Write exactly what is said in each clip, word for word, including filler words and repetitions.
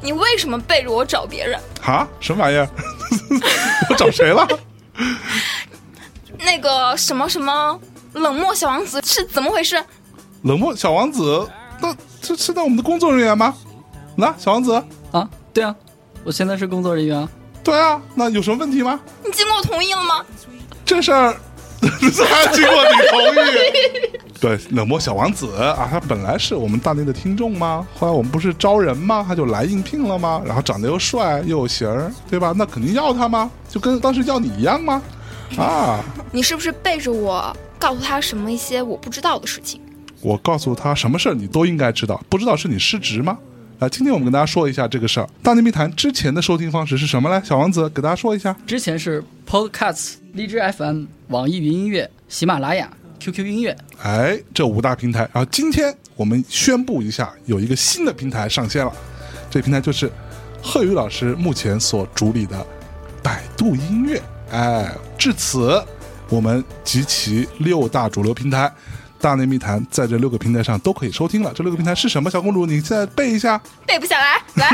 你为什么背着我找别人？ 哈，什么玩意儿？我找谁了？ 那个什么什么冷漠小王子是怎么回事？ 冷漠小王子，那这是在我们的工作人员吗？那小王子啊，对啊，我现在是工作人员啊。 对啊，那有什么问题吗？ 你经过同意了吗？ 这事儿还经过你同意？对，冷漠小王子啊，他本来是我们大内的听众吗？后来我们不是招人吗？他就来应聘了吗？然后长得又帅又有型儿，对吧？那肯定要他吗？就跟当时要你一样吗？啊！ 你是不是背着我告诉他什么一些我不知道的事情？ 我告诉他什么事儿你都应该知道，不知道是你失职吗？啊，今天我们跟大家说一下这个事儿。大内密谈之前的收听方式是什么来？小王子给大家说一下。 之前是 Podcast、荔枝 F M、网易云音乐、喜马拉雅、Q Q 音乐， 哎，这五大平台。然后今天我们宣布一下，有一个新的平台上线了。这个平台就是贺宇老师目前所主理的百度音乐。哎，至此我们集齐六大主流平台。大内密谈在这六个平台上都可以收听了。这六个平台是什么？小公主，你现在背一下。 背不下来，来。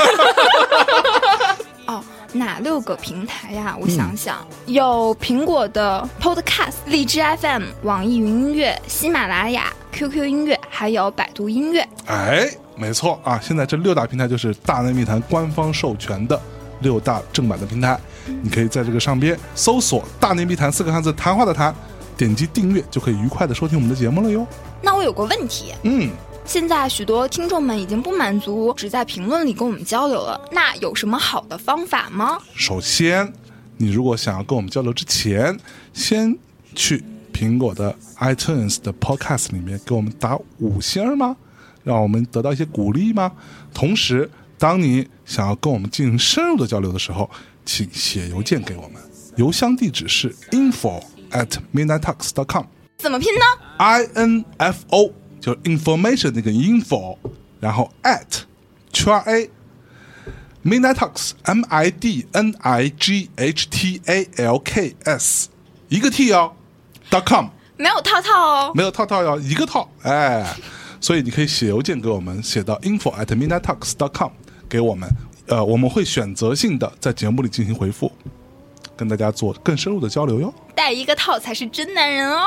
哦，哪六个平台呀？我想想，嗯、有苹果的 Podcast、荔枝 F M、网易云音乐、喜马拉雅、Q Q 音乐，还有百度音乐。 哎，没错啊！现在这六大平台就是大内密谈官方授权的六大正版的平台，嗯、你可以在这个上边搜索“大内密谈”四个汉字，谈话的谈。点击订阅就可以愉快的收听我们的节目了哟。 那我有个问题， 嗯， 现在许多听众们已经不满足只在评论里跟我们交流了，那有什么好的方法吗？ 首先，你如果想要跟我们交流之前，先去苹果的 iTunes 的 Podcast 里面给我们打五星吗？让我们得到一些鼓励吗？同时，当你想要跟我们进行深入的交流的时候，请写邮件给我们，邮箱地址是 info at midnight talks dot com， 怎么拼呢 ？I N F O 就是 information 那个 info， 然后 at 圈 A midnight talks M I D N I G H T A L K S 一个 T 哦 dot com 没有套套哦， 没有套套哟，一个套哎，所以你可以写邮件给我们，写到 info at midnight talks dot com 给我们，呃，我们会选择性的在节目里进行回复。跟大家做更深入的交流哟， 带一个套才是真男人哦。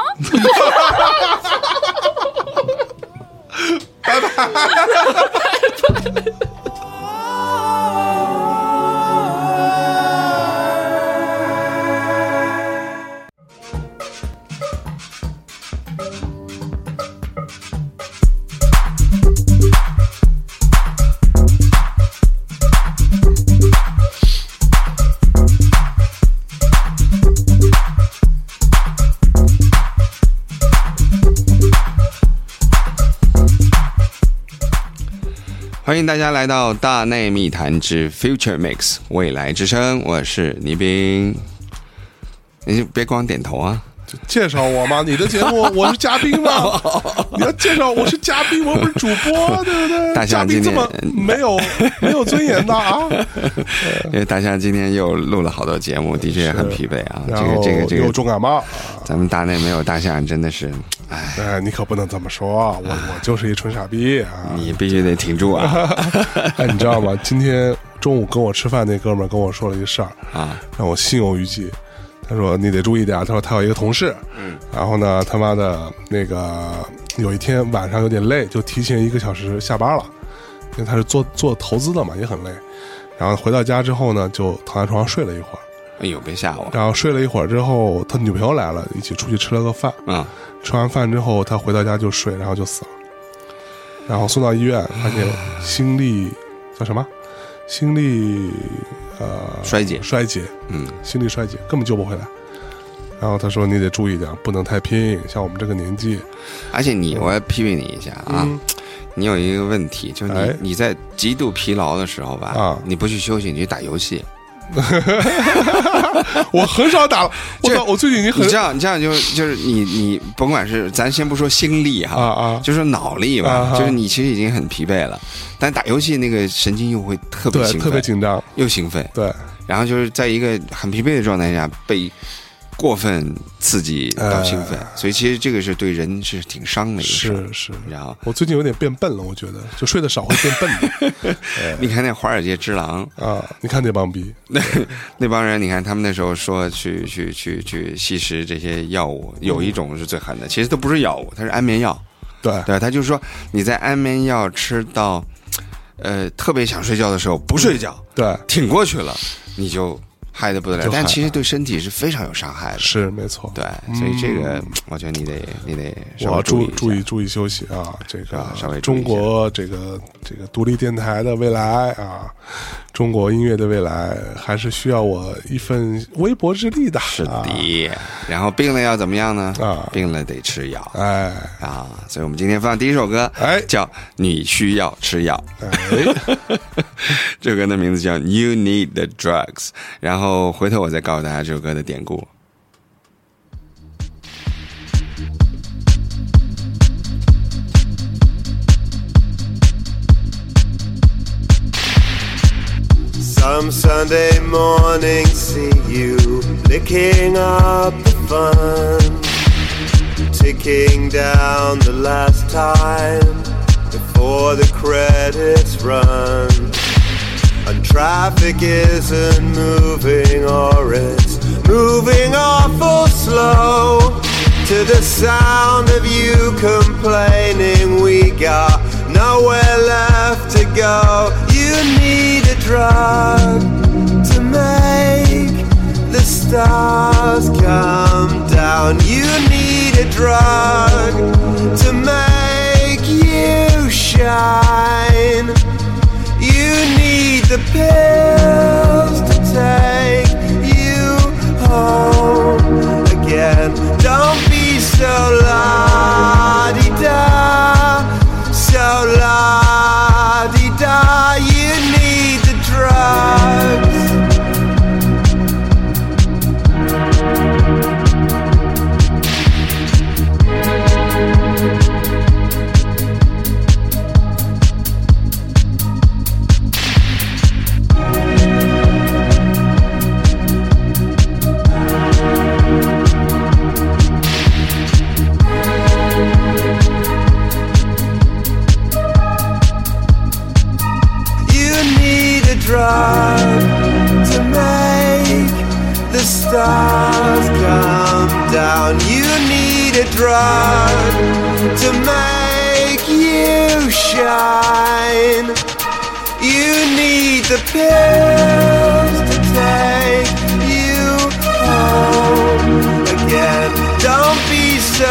拜拜。 欢迎大家来到大内密谈之 Future Mix 未来之声，我是倪斌。你别光点头啊， 介绍我吗？你的节目我是嘉宾吗？你要介绍我是嘉宾，我不是主播，对不对？ 大象今天嘉宾这么没有没有尊严的啊！ 因为大象今天又录了好多节目，的确也很疲惫啊。这个这个这个有重感冒， 咱们大内没有大象真的是，哎， 哎，你可不能这么说，我我就是一纯傻逼啊！ 你必须得挺住啊！ 哎，你知道吗？今天中午跟我吃饭那哥们儿跟我说了一个事儿啊，让我心有余悸。他说你得注意点，他说他有一个同事，嗯，然后呢他妈的那个有一天晚上有点累，就提前一个小时下班了，因为他是做做投资的嘛，也很累。然后回到家之后呢，就躺在床上睡了一会儿。 哎呦，别吓我！ 然后睡了一会儿之后，他女朋友来了，一起出去吃了个饭。嗯，吃完饭之后，他回到家就睡，然后就死了。然后送到医院，发现心力叫什么？心力。呃， 衰竭， 衰竭，嗯，心力衰竭，根本救不回来。然后他说：“你得注意点，不能太拼，像我们这个年纪。” 而且你，我要批评你一下啊，嗯、你有一个问题，就是你、哎、你在极度疲劳的时候吧，啊，你不去休息，你去打游戏。 我很少打了，我操！我最近已经很你这样，你这样就就是你你甭管是咱先不说心力哈，啊啊，就说脑力吧，啊啊，就是你其实已经很疲惫了，但打游戏那个神经又会特别兴奋， 特别紧张， 又兴奋， 对， 然后就是在一个很疲惫的状态下被过分刺激到兴奋， 哎所以其实这个是对人是挺伤的一个事儿。 是是， 然后我最近有点变笨了，我觉得就睡得少会变笨的。 你看那华尔街之狼啊，你看那帮逼， 那那帮人，你看他们那时候说去去去去吸食这些药物，有一种是最狠的，其实都不是药物，它是安眠药。 对对，他就是说你在安眠药吃到呃特别想睡觉的时候不睡觉， 对， 挺过去了，你就嗨得不得了， 就嗨但其实对身体是非常有伤害的。 是没错。 对，所以这个、嗯、我觉得你得你得稍微我要注注意注意休息啊！这个啊稍微注意一下中国这个这个独立电台的未来啊，中国音乐的未来，还是需要我一份微薄之力的。 是的、 啊， 然后病了要怎么样呢？ 啊， 病了得吃药。 哎啊，所以我们今天放第一首歌， 哎， 叫《你需要吃药》。 哎， 这首歌的名字叫《You Need the Drugs》。然后回头我再告诉大家这首歌的典故。 Some Sunday morning see you licking up the fun, ticking down the last time before the credits run. And traffic isn't moving, or it's moving awful slow, to the sound of you complaining we got nowhere left to go. You need a drug to make the stars come down. You need a drug to make you shine. You need the pills to take you home again. Don't be so la-di-da, so la-di-da. You need the drugs. Drug to make the stars come down. You need a drug to make you shine. You need the pills to take you home again. Don't be so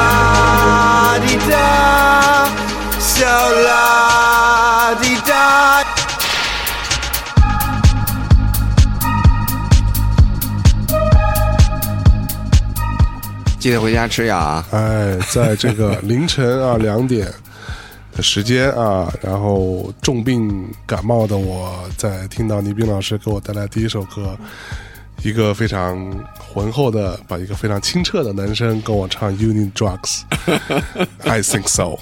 la-di-da, so la-di-da. 记得回家吃药啊！ 哎，在这个凌晨啊两点的时间啊，然后重病感冒的我，在听到倪斌老师给我带来第一首歌，一个非常浑厚的，把一个非常清澈的男生跟我唱 You Need Drugs I think so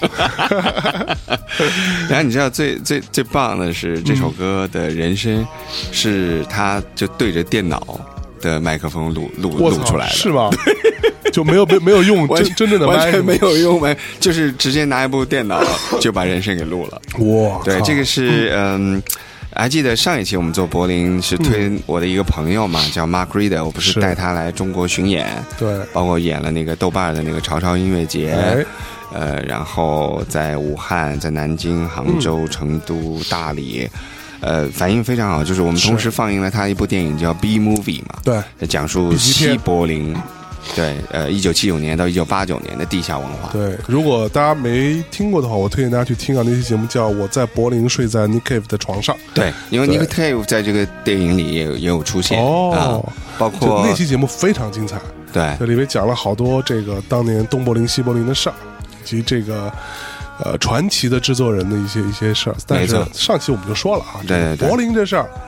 然后你知道最最最棒的是这首歌的人声是他就对着电脑的麦克风录录录出来的， 是吗？就没有没没有用真真正的麦， 完全没有用麦，就是直接拿一部电脑就把人声给录了。 哇， 对，这个是嗯。还记得上一期我们做柏林是推我的一个朋友嘛，嗯、叫 Mark Reeder， 我不是带他来中国巡演， 对， 包括演了那个豆瓣的那个潮潮音乐节， 哎、 呃，然后在武汉、在南京、杭州、嗯、成都、大理。呃，反应非常好，就是我们同时放映了他一部电影叫《B Movie》嘛， 对， 讲述西柏林，对，呃，一九七九年到一九八九年的地下文化。 对，如果大家没听过的话，我推荐大家去听啊，那期节目叫《我在柏林睡在 Nick Cave 的床上》。 对，因为 Nick Cave 在这个电影里也有也有出现哦、 啊，包括那期节目非常精彩。 对， 这里面讲了好多这个当年东柏林、西柏林的事儿，以及这个。呃，传奇的制作人的一些一些事儿，但是上期我们就说了啊， 对对对， 柏林这事儿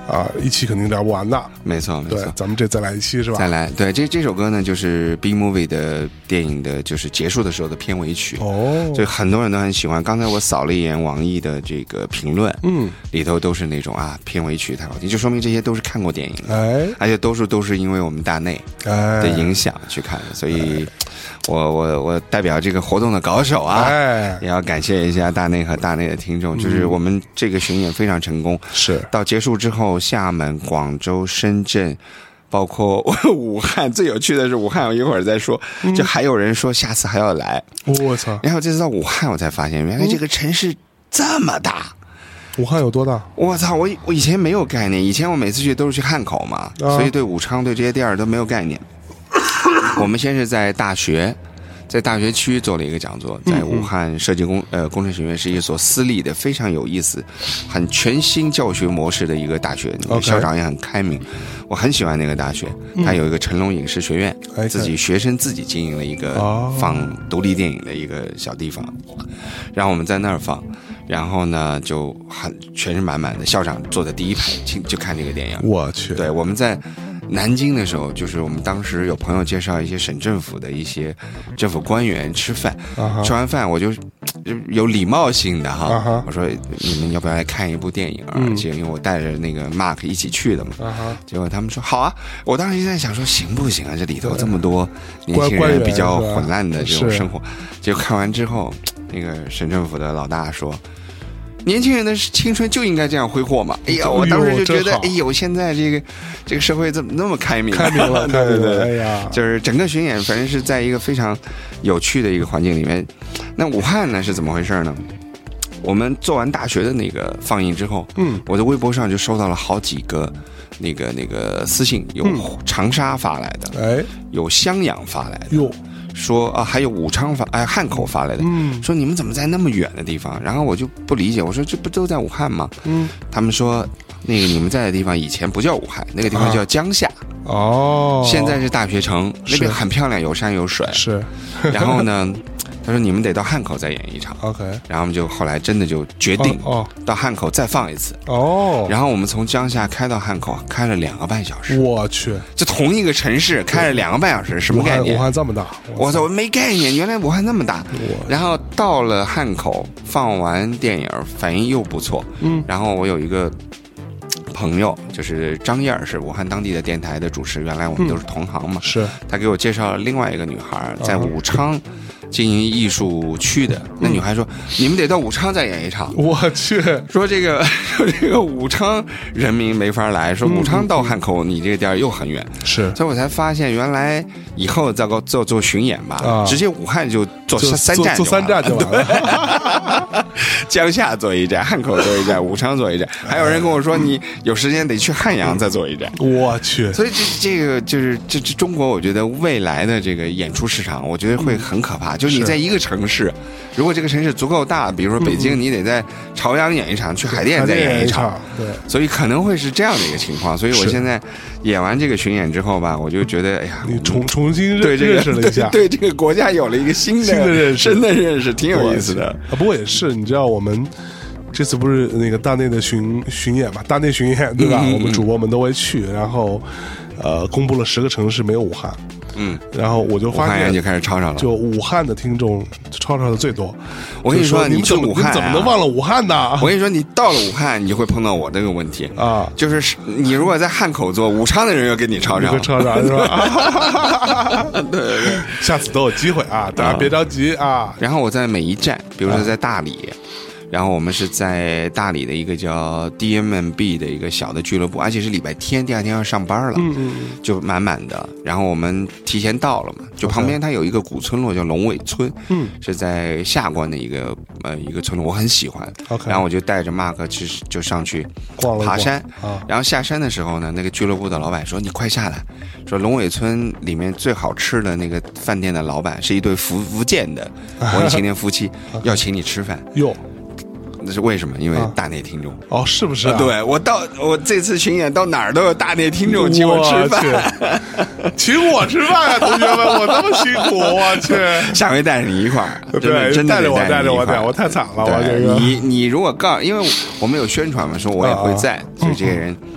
啊，一期肯定聊不完的。 没错，没对错，， 咱们这再来一期是吧？ 再来，对，这这首歌呢，就是 B Movie 的电影的，就是结束的时候的片尾曲。 哦， 所以很多人都很喜欢。刚才我扫了一眼网易的这个评论， 嗯， 里头都是那种啊，片尾曲太好听，就说明这些都是看过电影的， 哎而且多数都是因为我们大内哎的影响去看的。所以我我我代表这个活动的搞手啊， 哎， 也要感谢一下大内和大内的听众，就是我们这个巡演非常成功。 是到结束之后，厦门、广州、深圳，包括武汉，最有趣的是武汉，我一会儿再说，就还有人说下次还要来。 我操， 然后这次到武汉，我才发现原来这个城市这么大。 武汉有多大？ 我操！我我以前没有概念，以前我每次去都是去汉口嘛， 啊所以对武昌对这些地儿都没有概念。我们先是在大学，在大学区做了一个讲座，在武汉设计工呃工程学院是一所私立的非常有意思、很全新教学模式的一个大学，那个 OK 校长也很开明，我很喜欢那个大学。它有一个成龙影视学院， 哎自己学生自己经营了一个哦放独立电影的一个小地方，然后我们在那儿放。然后呢，就很全是满满的，校长坐在第一排，请就看这个电影。 我去， 对，我们在南京的时候，就是我们当时有朋友介绍一些省政府的一些政府官员吃饭， 啊哈吃完饭我就就有礼貌性的哈， 啊哈我说你们要不要来看一部电影啊？ 嗯而且因为我带着那个 Mark 一起去的嘛， 啊哈， 结果他们说好啊，我当时就在想说行不行啊？这里头这么多年轻官员人比较是吧混乱的这种是生活，结果看完之后，那个省政府的老大说。年轻人的青春就应该这样挥霍嘛！哎呀，我当时就觉得， 哎呦真好哎呦，现在这个这个社会怎么那么开明、啊？ 开明了， 对对对， 哎呀， 就是整个巡演，反正是在一个非常有趣的一个环境里面。那武汉呢是怎么回事呢？我们做完大学的那个放映之后， 嗯， 我的微博上就收到了好几个那个那个私信，有长沙发来的， 哎有襄阳发来的， 哟， 说啊还有武昌发哎汉口发来的， 嗯说你们怎么在那么远的地方？然后我就不理解，我说这不都在武汉吗？ 嗯， 他们说那个你们在的地方以前不叫武汉，那个地方叫江夏， 哦， 现在是大学城，那边是很漂亮，有山有水。 是然后呢，他说你们得到汉口再演一场。 OK， 然后我们就后来真的就决定哦到汉口再放一次。 哦， 然后我们从江夏开到汉口，开了两个半小时。 我去， 就同一个城市开了两个半小时，什么武汉武概念？ 汉这么大， 我操，我没概念，原来武汉那么大。 我然后到了汉口，放完电影反应又不错。 嗯然后我有一个朋友，就是张燕儿，是武汉当地的电台的主持，原来我们都是同行嘛。 是他给我介绍了另外一个女孩，在啊武昌经营艺术区的。那女孩说：“你们得到武昌再演一场。” 我去， 说这个说这个武昌人民没法来，说武昌到汉口你这个地儿又很远， 是所以我才发现原来以后再搞做做巡演吧， 啊直接武汉就做就三站做做三站就完了， 江夏做一站，汉口做一站，武昌做一站。还有人跟我说你有时间得去汉阳再做一站。 我去， 所以这这个就是这这中国，我觉得未来的这个演出市场，我觉得会很可怕。就是你是在一个城市，如果这个城市足够大，比如说北京，你得在朝阳演一场，去海淀再演一场，， 对， 所以可能会是这样的一个情况。所以我是现在演完这个巡演之后吧，我就觉得，哎呀， 你重重新认对这个认识了一下， 对对这个国家有了一个新的新的认识真的认识，挺有意思的。 啊，不过也是，你知道我们这次不是那个大内的巡巡演嘛，大内巡演对吧？ 嗯嗯嗯我们主播们都会去，然后呃，公布了十个城市没有武汉， 嗯， 然后我就武发现汉人就开始吵吵了。 就武汉的听众吵吵的最多。 我跟你说， 就你们怎么去武汉、啊， 你们怎么能忘了武汉呢？ 我跟你说，你到了武汉，你就会碰到我这个问题。 啊， 就是你如果在汉口做，武昌的人又跟你吵吵你会，吵吵是吧？对对对，下次都有机会啊，大家别着急啊。 然后我在每一站，比如说在大理，然后我们是在大理的一个叫 D M M B 的一个小的俱乐部，而且是礼拜天，第二天要上班了， 嗯嗯就满满的。然后我们提前到了嘛，就旁边它有一个古村落叫龙尾村， 嗯是在下关的一个呃一个村落，我很喜欢。 ，OK， 然后我就带着 Mark 去就上去逛了一逛爬山， 啊， 然后下山的时候呢，那个俱乐部的老板说：“你快下来，说龙尾村里面最好吃的那个饭店的老板是一对福福建的文艺青年夫妻，要请你吃饭。 哟， 那是为什么？因为啊大内听众。 哦，是不是啊？ 对我到我这次巡演到哪儿都有大内听众请我吃饭， 饭，请我吃饭啊，同学们，我这么辛苦，我去。 下回带着你一块儿，真的对， 真的带着我， 得带着我， 你一块儿带我太惨了，我对这个你你如果告，因为我们有宣传嘛，说我也会在，所以这些人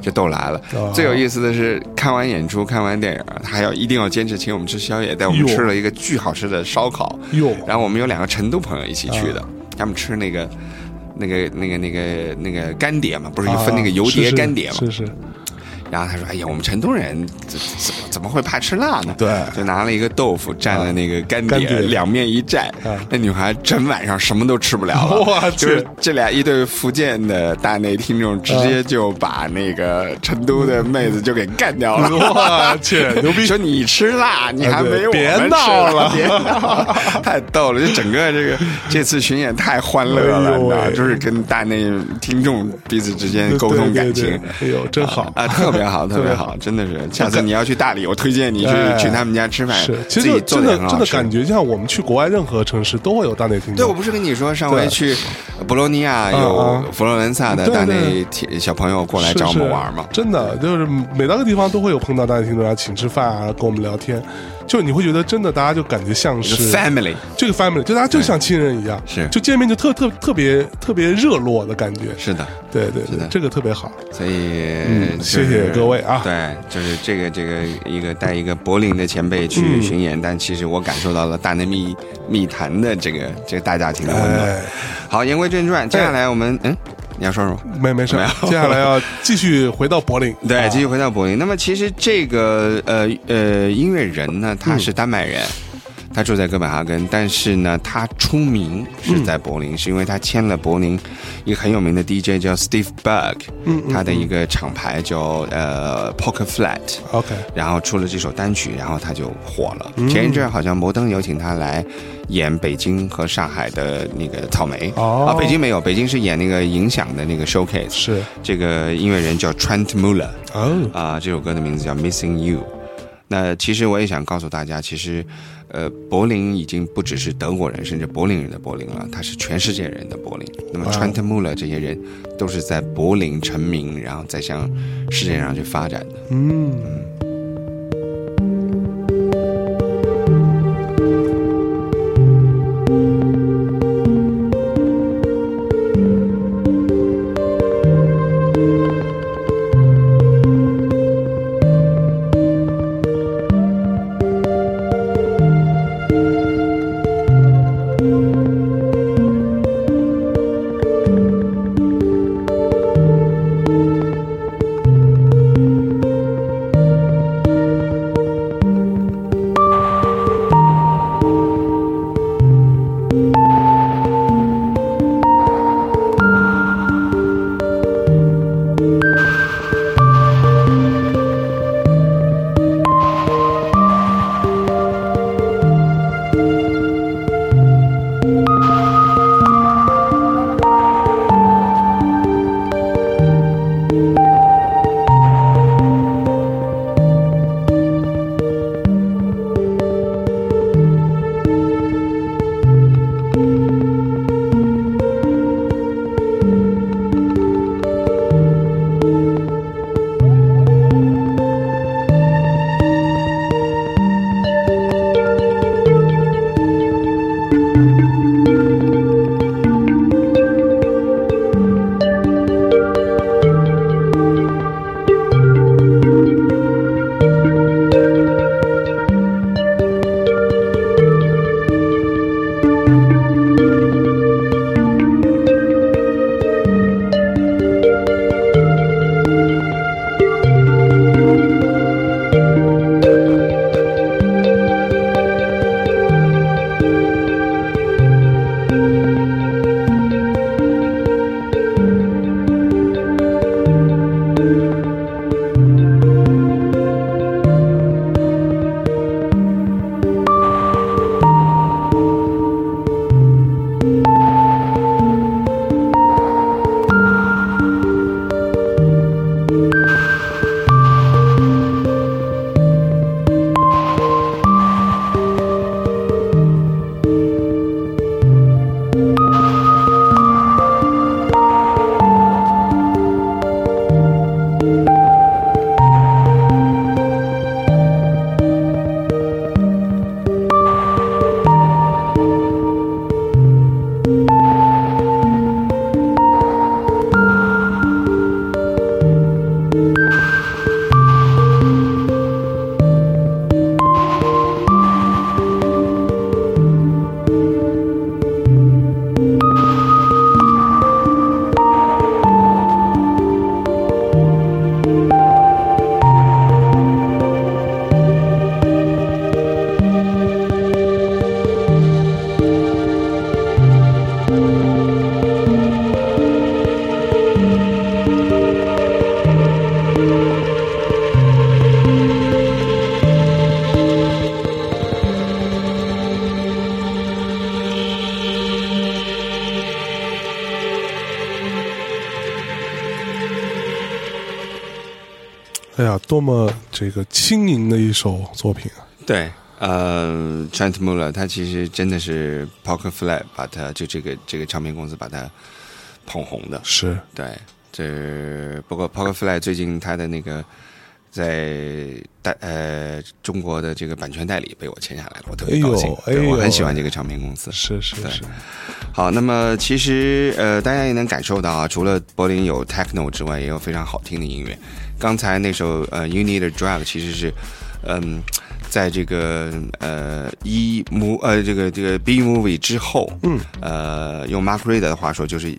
就都来了。 哦最有意思的是，看完演出、看完电影，他还要一定要坚持请我们吃宵夜，带我们哟吃了一个巨好吃的烧烤。 哟然后我们有两个成都朋友一起去的， 啊他们吃那个。那个、那个、那个、那个干碟嘛，不是就分那个油碟、干碟嘛？ 啊、是是。是然后他说：“哎呀，我们成都人怎怎么怎么会怕吃辣呢？” 对， 就拿了一个豆腐蘸了那个干碟， 干碟两面一蘸， 啊、 那女孩整晚上什么都吃不了了。 哇， 就是这俩一对福建的大内听众，直接就把那个成都的妹子就给干掉了。 我去，牛逼！ 说你吃辣，你还没有我们别吃闹了， 别闹了，太逗了！就整个这个这次巡演太欢乐了， 哎、 你知道，就是跟大内听众彼此之间沟通感情。 对对对哎呦，真好啊，特别好，特别好。真的是，下次你要去大理，我推荐你去、哎、去他们家吃饭。 是，其实真的真的感觉像我们去国外任何城市都会有大内听众。 对，我不是跟你说上回去博洛尼亚有佛罗伦萨的大内小朋友过来找我们玩吗？ 真的就是每到个地方都会有碰到大内听众，然后请吃饭啊，跟我们聊天。就你会觉得真的，大家就感觉像是 family， 这个 family 就大家就像亲人一样， 是就见面就特特特别特别热络的感觉。 是的， 对对对，这个特别好。 所以、 嗯、谢谢各位啊。 对，就是这个这个一个带一个柏林的前辈去巡演，嗯、但其实我感受到了大内密密谈的这个这个大家庭的温暖。 哎、 好，言归正传，接下来我们嗯。你要说什么？ 没没事，接下来要继续回到柏林。 对，继续回到柏林。那么其实这个呃呃音乐人呢，他是丹麦人，嗯、他住在哥本哈根，但是呢，他出名是在柏林，嗯、是因为他签了柏林一个很有名的 D J 叫 Steve Berg， 嗯， 他的一个厂牌叫呃 Poker Flat。OK， 然后出了这首单曲，然后他就火了。嗯、前一阵好像摩登有请他来演北京和上海的那个草莓。 哦， 啊，北京没有，北京是演那个影响的那个 showcase。 是这个音乐人叫 Trent Muller。 哦， 啊，这首歌的名字叫 Missing You。那其实我也想告诉大家，其实，呃，柏林已经不只是德国人，甚至柏林人的柏林了，它是全世界人的柏林。那么 Trent Muller 这些人都是在柏林成名，然后再向世界上去发展的。 嗯。 嗯哎呀，多么这个轻盈的一首作品啊！ 对，呃 ，Trent Muller 他其实真的是 Pocket Flat 把他就这个这个唱片公司把他捧红的。 是， 对，这不过 Pocket Flat 最近他的那个在代呃中国的这个版权代理被我签下来了，我特别高兴。 哎呦， 对，我很喜欢这个唱片公司。 是是是。 好，那么其实呃，大家也能感受到啊，除了柏林有 techno 之外，也有非常好听的音乐。刚才那首呃 You Need a Drug 其实是嗯，在这个呃 E move 呃这个这个 B movie 之后，嗯，呃用 Mark Reeder 的话说，就是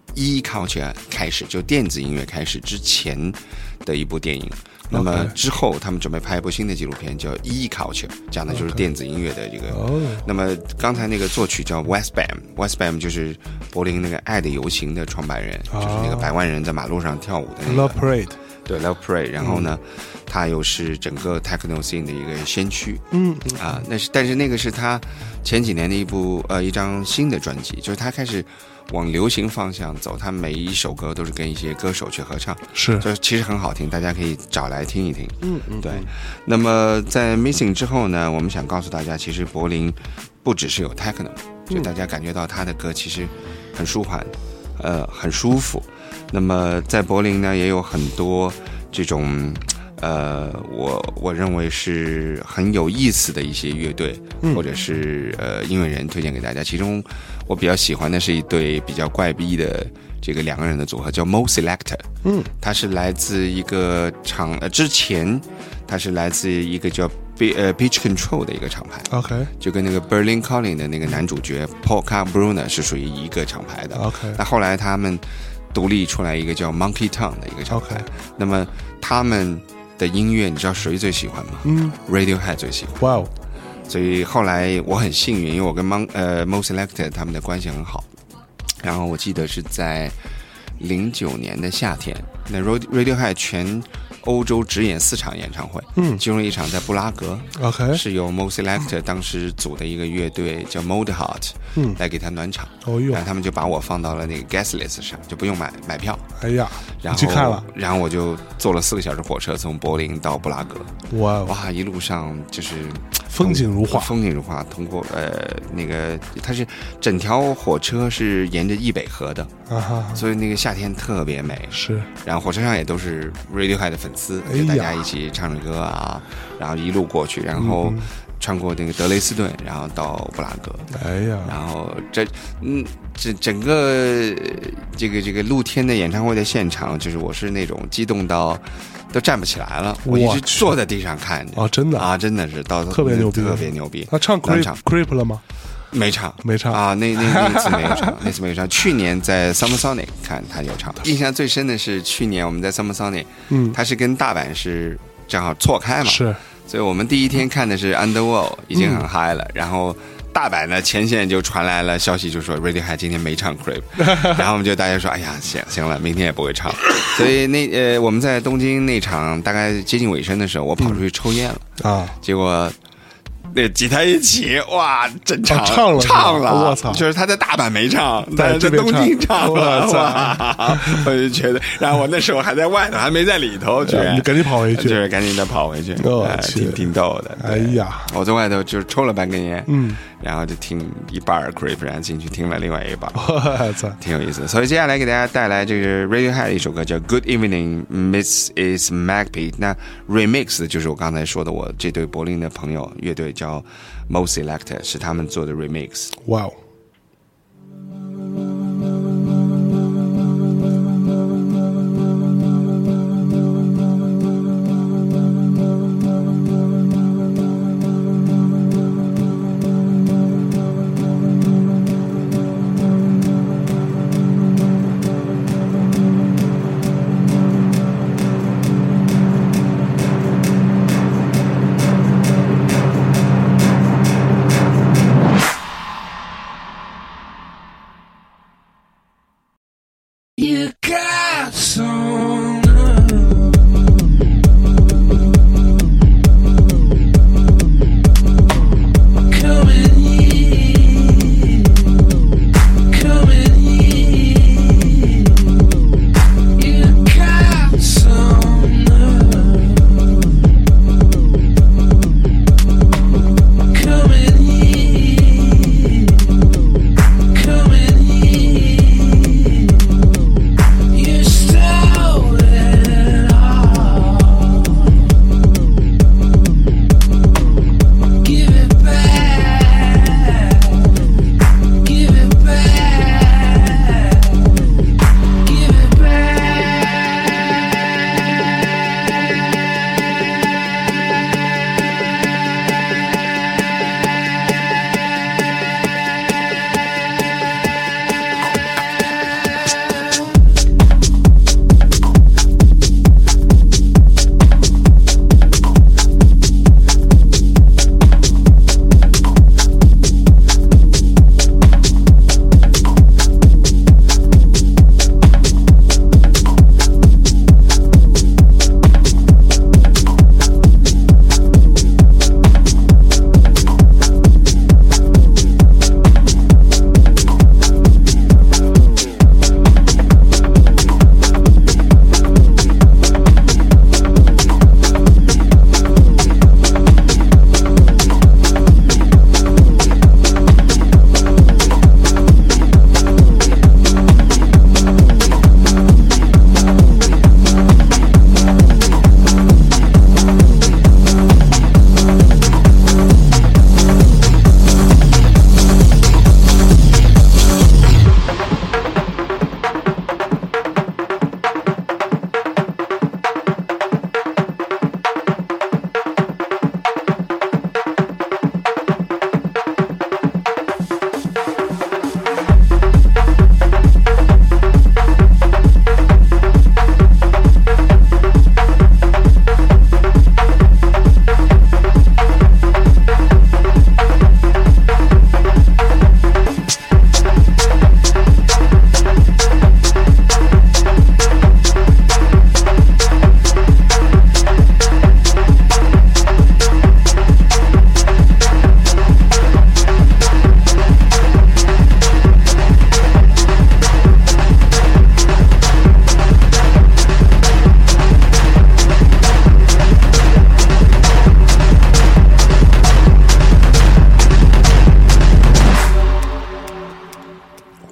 E culture 开始，就电子音乐开始之前的一部电影。那么之后，他们准备拍一部新的纪录片，叫《E Culture》，讲的就是电子音乐的这个。Okay. 那么刚才那个作曲叫 Westbam，Westbam 就是柏林那个《爱的游行》的创办人， oh. 就是那个百万人在马路上跳舞的那个。 Love Parade。 对 ，Love Parade。然后呢，嗯、他又是整个 techno scene 的一个先驱。嗯啊，那是但是那个是他前几年的一部呃一张新的专辑，就是他开始往流行方向走，他每一首歌都是跟一些歌手去合唱， 是， 就其实很好听，大家可以找来听一听。嗯嗯，对。那么在 Missing 之后呢，我们想告诉大家，其实柏林不只是有 techno， 就大家感觉到他的歌其实很舒缓，呃，很舒服。那么在柏林呢，也有很多这种。呃，我我认为是很有意思的一些乐队，嗯、或者是呃音乐人推荐给大家。其中我比较喜欢的是一对比较怪逼的这个两个人的组合，叫 Mo Selector。嗯，他是来自一个厂，呃，之前他是来自一个叫 B 呃 Pitch Control 的一个厂牌。 OK， 就跟那个 Berlin Calling 的那个男主角 Paul Kalkbrenner 是属于一个厂牌的。 OK， 那后来他们独立出来一个叫 Monkey Town 的一个厂牌。Okay. 那么他们的音乐，你知道谁最喜欢吗？嗯 ，Radiohead 最喜欢。哇哦！所以后来我很幸运，因为我跟 Mon 呃 Mo Selector 他们的关系很好。然后我记得是在零九年的夏天，那 Radiohead 全欧洲只演四场演唱会，嗯，其中一场在布拉格 ，OK， 是由 Mo Selector 当时组的一个乐队叫 Moldheart， 嗯，来给他暖场。哦哟，然后他们就把我放到了那个 guest list 上，就不用买买票。 哎呀， 然后去看了， 然后我就坐了四个小时火车从柏林到布拉格。 哇哇，一路上就是风景如画， 风景如画。通过呃那个，它是整条火车是沿着易北河的，啊哈，所以那个夏天特别美。 是，然后火车上也都是 Radiohead 的粉丝，就大家一起唱着歌啊，然后一路过去，然后穿过那个德累斯顿，然后到布拉格。 哎呀， 然后这嗯，这整个这个这个露天的演唱会的现场，就是我是那种激动到都站不起来了，我一直坐在地上看着。 哦，真的啊，真的是到特别牛逼， 特别牛逼。 他唱 Creep Creep 了吗？ 没唱， 没唱啊！那那那次没有唱，那次没有唱。去年在 Summer Sonic 看他有唱，印象最深的是去年我们在 Summer Sonic， 嗯，他是跟大阪是正好错开嘛， 是， 所以我们第一天看的是 Underworld， 已经很嗨了，嗯、然后大阪呢前线就传来了消息，就说 Radiohead 今天没唱 Creep， 然后我们就大家说，哎呀，行行了，明天也不会唱。所以那呃我们在东京那场大概接近尾声的时候，我跑出去抽烟了、嗯、啊，结果。那吉他一起，哇，真唱、 哦、唱了， 唱了， 我操！ 就是他在大阪没唱，但是在东京唱了，哇！我就觉得，然后我那时候还在外头，还没在里头，居然你赶紧跑回去， 就是赶紧的跑回去， 哦呃、挺挺逗的。 哎呀， 我在外头就是抽了半根烟，嗯，然后就听一半 Creep， 然后进去听了另外一半， 我操， 挺有意思。所以接下来给大家带来这个 Radiohead 的一首歌叫《Good Evening, Missus Magpie》，那 remix 就是我刚才说的，我这对柏林的朋友乐队叫。Mo Selector 是他们做的 remix。 哇哦！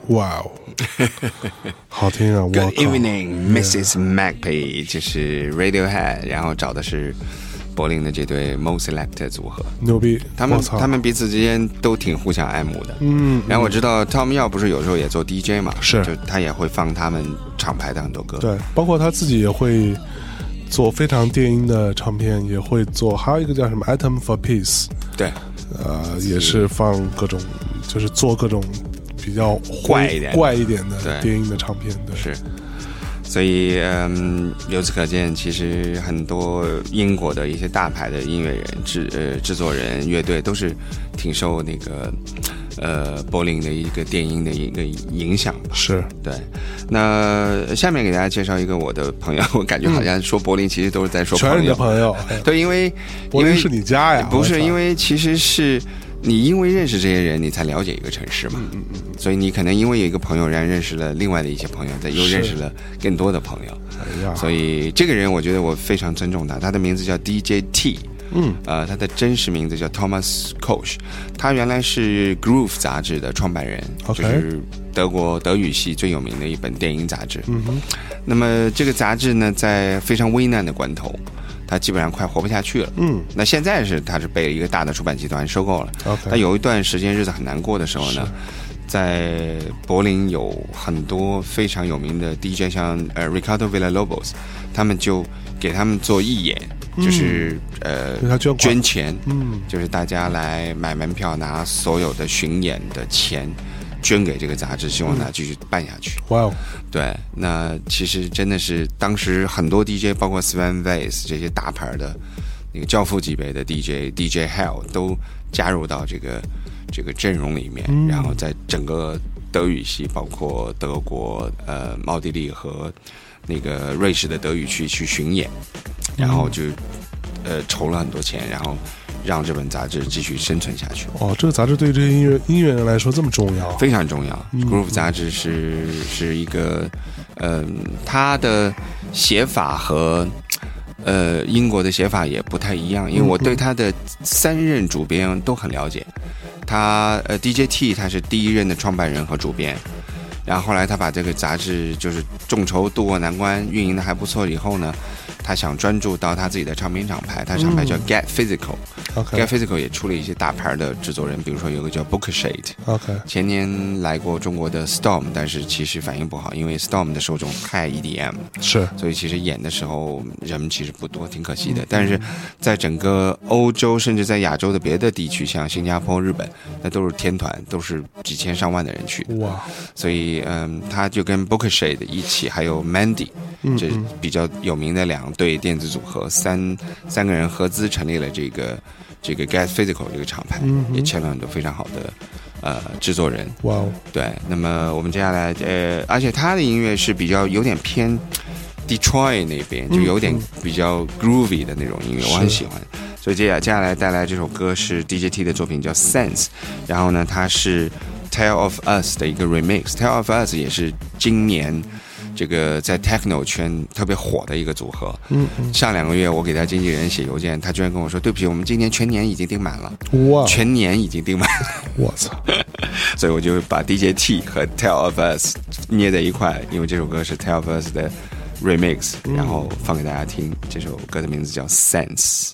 哇哦，好听啊！我 Good 靠 evening, Missus Magpie， 就是 Radiohead， 然后找的是柏林的这对 Mo Selector 组合， 牛逼！ 他们我操他们彼此之间都挺互相爱慕的。 嗯， 然后我知道 Tom Yao 不是有时候也做 D J 嘛， 是就他也会放他们厂牌的很多歌。 对，包括他自己也会做非常电音的唱片，也会做，还有一个叫什么 Atom for Peace， 对， 呃，也是放各种，就是做各种比较怪一点的怪一点的对电音的唱片。对， 是。所以，嗯，由此可见，其实很多英国的一些大牌的音乐人、制呃制作人、乐队都是挺受那个呃柏林的一个电音的一个影响吧。 是， 对。那下面给大家介绍一个我的朋友，我感觉好像说柏林其实都是在说朋友。 全是你的朋友。 对，因为柏林是你家呀？ 不是，因为其实是。你因为认识这些人，你才了解一个城市嘛。嗯嗯嗯。所以你可能因为有一个朋友，然后认识了另外的一些朋友，再又认识了更多的朋友。 哎呀， 所以这个人，我觉得我非常尊重他。他的名字叫 D J T。嗯。呃，他的真实名字叫 Thomas Koch。他原来是 Groove 杂志的创办人， okay. 就是德国德语系最有名的一本电影杂志。 嗯哼。 那么这个杂志呢，在非常危难的关头。他基本上快活不下去了，嗯，那现在是他是被一个大的出版集团收购了。 Okay. 他有一段时间日子很难过的时候呢，在柏林有很多非常有名的 D J， 像呃 Ricardo Villalobos， 他们就给他们做义演，嗯、就是呃捐钱，嗯，就是大家来买门票，拿所有的巡演的钱。捐给这个杂志，希望它继续办下去。 哇哦！ 对，那其实真的是当时很多 D J， 包括 Sven Weiss 这些大牌的那个教父级别的 D J，D J Hell 都加入到这个这个阵容里面，嗯、然后在整个德语系，包括德国、呃奥地利和那个瑞士的德语区去巡演，然后就呃筹了很多钱，然后。让这本杂志继续生存下去。 哦，这个杂志对这些音乐音乐人来说这么重要？ 非常重要。嗯、Groove 杂志是是一个，嗯、呃，它的写法和呃英国的写法也不太一样，因为我对他的三任主编都很了解。他呃 D J T 他是第一任的创办人和主编。然后后来他把这个杂志就是众筹渡过难关，运营的还不错以后呢，他想专注到他自己的唱片厂牌，他厂牌叫 Get Physical、嗯、Get Physical 也出了一些大牌的制作人，比如说有个叫 Bookshade、okay. 前年来过中国的 Storm， 但是其实反应不好，因为 Storm 的受众太 E D M 是， 所以其实演的时候人们其实不多，挺可惜的、嗯、但是在整个欧洲甚至在亚洲的别的地区，像新加坡、日本，那都是天团，都是几千上万的人去的。哇，所以嗯，他就跟 Bookshade 一起，还有 Mandy， 这比较有名的两对电子组合，三三个人合资成立了这个这个 Get Physical 这个厂牌，嗯、也签了很多非常好的呃制作人。 哇哦， 对，那么我们接下来呃，而且他的音乐是比较有点偏 Detroit 那边，就有点比较 groovy 的那种音乐，嗯、我很喜欢。所以接下接下来带来这首歌是 D J T 的作品叫 Sense， 然后呢，它是Tale of Us 的一个 remix。Tale of Us 也是今年这个在 techno 圈特别火的一个组合。嗯嗯。上两个月我给他经纪人写邮件，他居然跟我说：“对不起，我们今年全年已经订满了。”哇！全年已经订满了。 我操！ 所以我就把 D J T 和 Tale of Us 捏在一块，因为这首歌是 Tale of Us 的 remix，、嗯、然后放给大家听。这首歌的名字叫 Sense。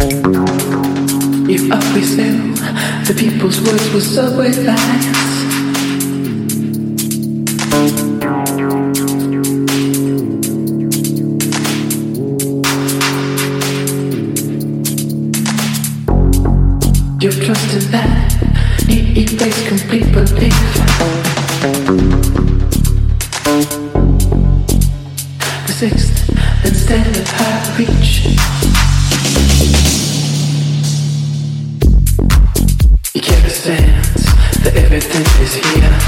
If up we sail, the people's words were subway lines. trust in that, he erased complete belief. The sixth, instead of her reach. He kept a stance that everything is here.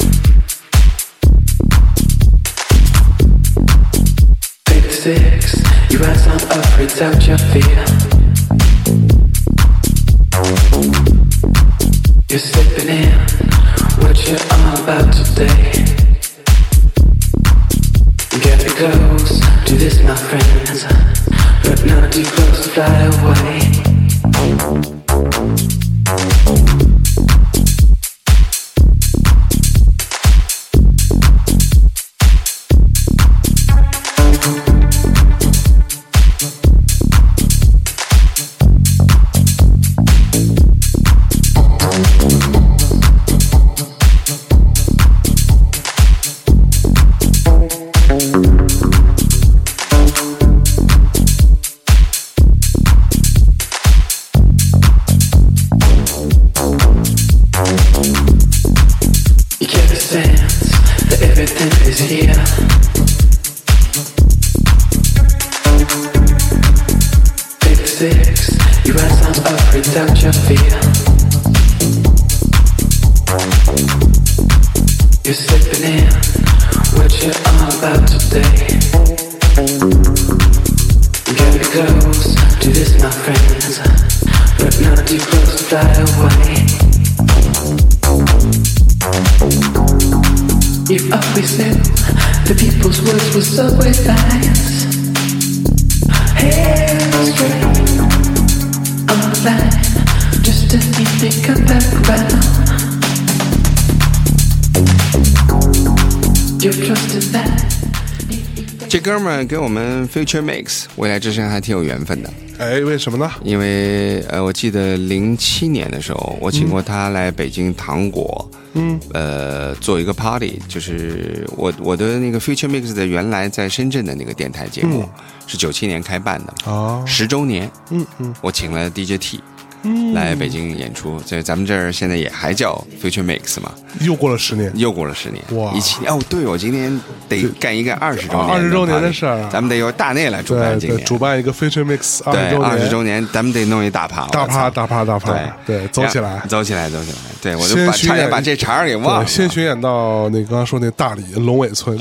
Take the six, you rise on up without your fear. You're slipping in what you're all about today. You get me close to this, my friends, but not too close to fly away. Without your fear, you're slipping in what you're all about today. You gotta be close to this, my friends, but not too close to fly away. You always knew the people's words were subway lines. Hair straight on the line. Just as you think I'm back around. You're trusting that. 这哥们儿跟我们 Future Mix 未来之声还挺有缘分的。 哎，为什么呢？ 因为呃，我记得零七年的时候，我请过他来北京糖果，嗯，呃，做一个 party， 就是我我的那个 Future Mix 的原来在深圳的那个电台节目，嗯、是九七年开办的，哦，十周年，嗯嗯，我请了 D J T。嗯、来北京演出，在咱们这儿现在也还叫 Future Mix 嘛， 又过了十年， 又过了十年，哇！一七哦，对，我今天得干一个二十周年， 二十周年的事儿， 咱们得由大内来主办今年， 主办一个 Future Mix 二十周年， 二十周年，咱们得弄一大趴， 大趴，大趴，大趴，对对，走起来， 走起来，走起来，对，我就把差点把这茬儿给忘了， 先巡演到那刚刚说那大理龙尾村，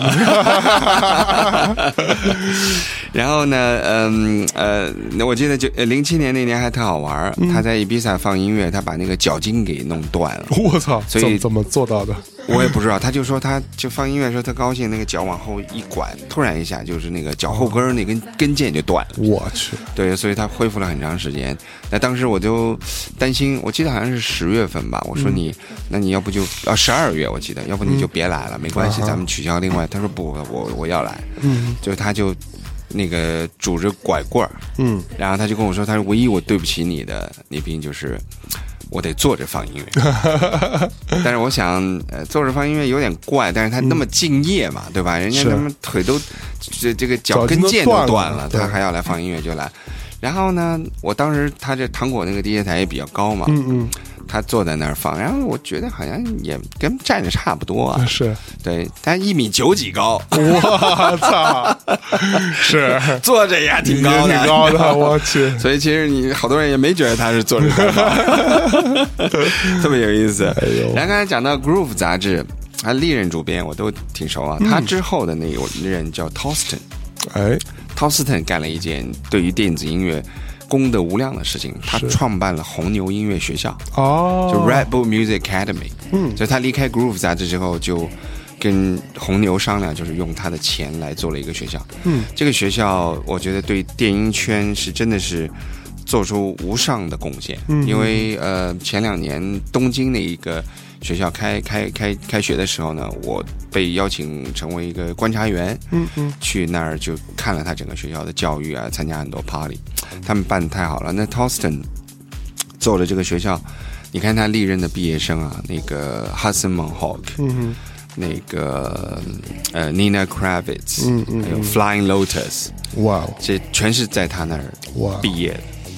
然后呢，嗯呃，我记得就零七年那年还特好玩，嗯、他在伊比萨放音乐，他把那个脚筋给弄断了。 我操！ 所以怎么做到的？ 我也不知道。他就说，他就放音乐的时候，他高兴，那个脚往后一拐，突然一下就是那个脚后跟那根跟腱就断了。 我去！ 对，所以他恢复了很长时间。那当时我就担心，我记得好像是十月份吧。我说你，嗯、那你要不就啊十二月，我记得，要不你就别来了，嗯、没关系，咱们取消另外。他说不，我我要来。嗯，就他就。那个拄着拐棍儿，嗯，然后他就跟我说，他说唯一我对不起你的那兵就是我得坐着放音乐。但是我想，呃，坐着放音乐有点怪，但是他那么敬业嘛，嗯、对吧？人家他们腿都这这个脚跟腱都断了，他还要来放音乐就来。然后呢，我当时他这糖果那个 D J 台也比较高嘛，嗯嗯。他坐在那儿放，然后我觉得好像也跟站着差不多啊。 是， 对，他一米九几高， 我操，是坐着也挺高的， 挺高的，我去。 所以其实你好多人也没觉得他是坐着放，特别有意思。哎呦，然后刚才讲到 Groove 杂志，他历任主编我都挺熟啊。嗯、他之后的那个人叫 Toston， 哎 ，Toston 干了一件对于电子音乐功德无量的事情，他创办了红牛音乐学校，哦，就 Red Bull Music Academy。嗯，所以他离开 Groove 杂志之后，就跟红牛商量，就是用他的钱来做了一个学校。嗯，这个学校我觉得对电音圈是真的是做出无上的贡献。嗯，因为呃前两年东京那一个学校开开开开学的时候呢，我被邀请成为一个观察员，嗯嗯，去那儿就看了他整个学校的教育啊，参加很多 party， 他们办得太好了。那 Toston 做了这个学校，你看他历任的毕业生啊，那个 Hudson Mohawk， 嗯那个呃 Nina Kravitz， 嗯嗯，还有 Flying Lotus， 哇，这全是在他那儿毕业的。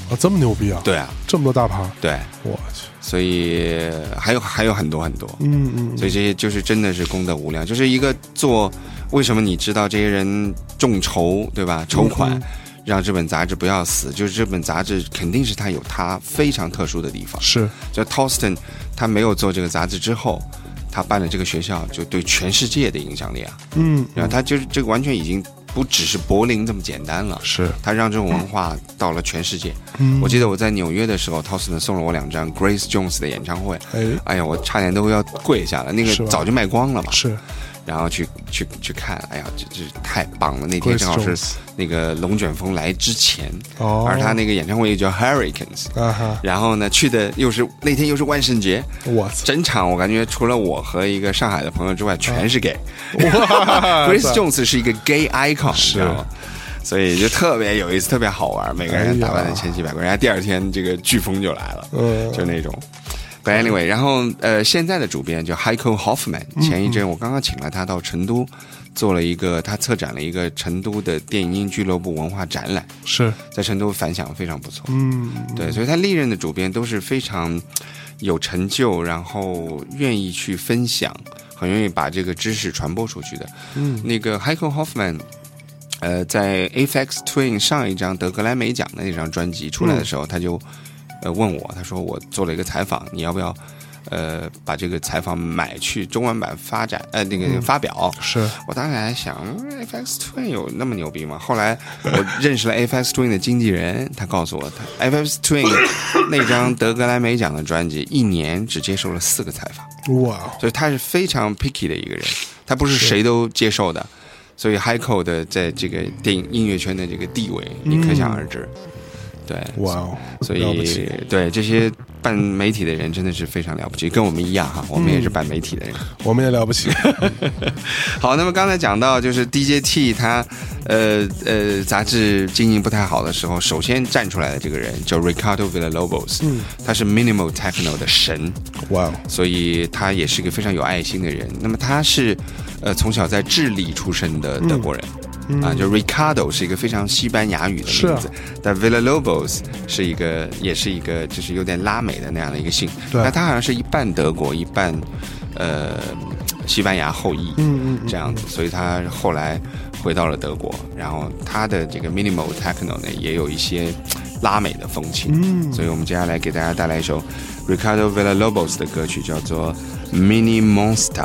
啊，这么牛逼啊！ 对啊， 这么多大牌， 对， 我去， 所以还有还有很多很多， 嗯嗯， 所以这些就是真的是功德无量，就是一个做为什么你知道这些人众筹对吧？筹款。 嗯让这本杂志不要死，就是这本杂志肯定是它有它非常特殊的地方。 是， 就 Tolston 他没有做这个杂志之后，他办了这个学校，就对全世界的影响力啊， 嗯， 然后他就是这个完全已经不只是柏林这么简单了， 是， 他让这种文化到了全世界。 嗯， 我记得我在纽约的时候 ，Tolston 送了我两张 Grace Jones 的演唱会， 哎， 哎呀，我差点都要跪下了，那个早就卖光了嘛， 是。 然后去去去看，哎呀，这这太棒了！那天正好是那个龙卷风来之前， 哦， 而他那个演唱会又叫 Hurricanes， 啊哈， 然后呢去的又是那天又是万圣节， 我操， 整场我感觉除了我和一个上海的朋友之外，全是 gay。 哇 Grace Jones 是一个 gay icon， 是， 知道吗？所以就特别有意思，特别好玩，每个人打扮的千奇百怪，人家第二天这个飓风就来了， 嗯， 就那种。But anyway， 然后呃，现在的主编叫 Heiko Hoffman， 前一阵我刚刚请了他到成都，做了一个他策展了一个成都的电音俱乐部文化展览， 是在成都反响非常不错。 嗯， 对，所以他历任的主编都是非常有成就，然后愿意去分享，很愿意把这个知识传播出去的。 嗯， 那个 Heiko Hoffman。呃，在 Aphex Twin 上一张得格莱美奖的那张专辑出来的时候，嗯、他就呃问我，他说我做了一个采访，你要不要呃把这个采访买去中文版发展呃那个发表？ 嗯、是我当时还想 Aphex Twin 有那么牛逼吗？后来我认识了 Aphex Twin 的经纪人，他告诉我，他 Aphex Twin 那张得格莱美奖的专辑一年只接受了四个采访， 哇， 所以他是非常 picky 的一个人，他不是谁都接受的。所以 Heiko 的在这个电影音乐圈的这个地位，你可想而知。嗯、对， 哇哦， 所以对这些办媒体的人真的是非常了不起，跟我们一样哈，我们也是办媒体的人， 嗯、我们也了不起。 好，那么刚才讲到就是 D J T 他呃呃杂志经营不太好的时候，首先站出来的这个人叫 Ricardo Villalobos，嗯，他是 Minimal Techno 的神， 哇哦， 所以他也是一个非常有爱心的人。那么他是。呃，从小在智利出生的德国人，嗯、啊，就 Ricardo 是一个非常西班牙语的名字，啊、但 Villalobos 是一个，也是一个，就是有点拉美的那样的一个姓。那他好像是一半德国，一半呃西班牙后裔，嗯嗯，这样子，所以他后来回到了德国，然后他的这个 Minimal Techno 呢，也有一些拉美的风情。嗯，所以我们接下来给大家带来一首 Ricardo Villalobos 的歌曲，叫做 Mini Monster。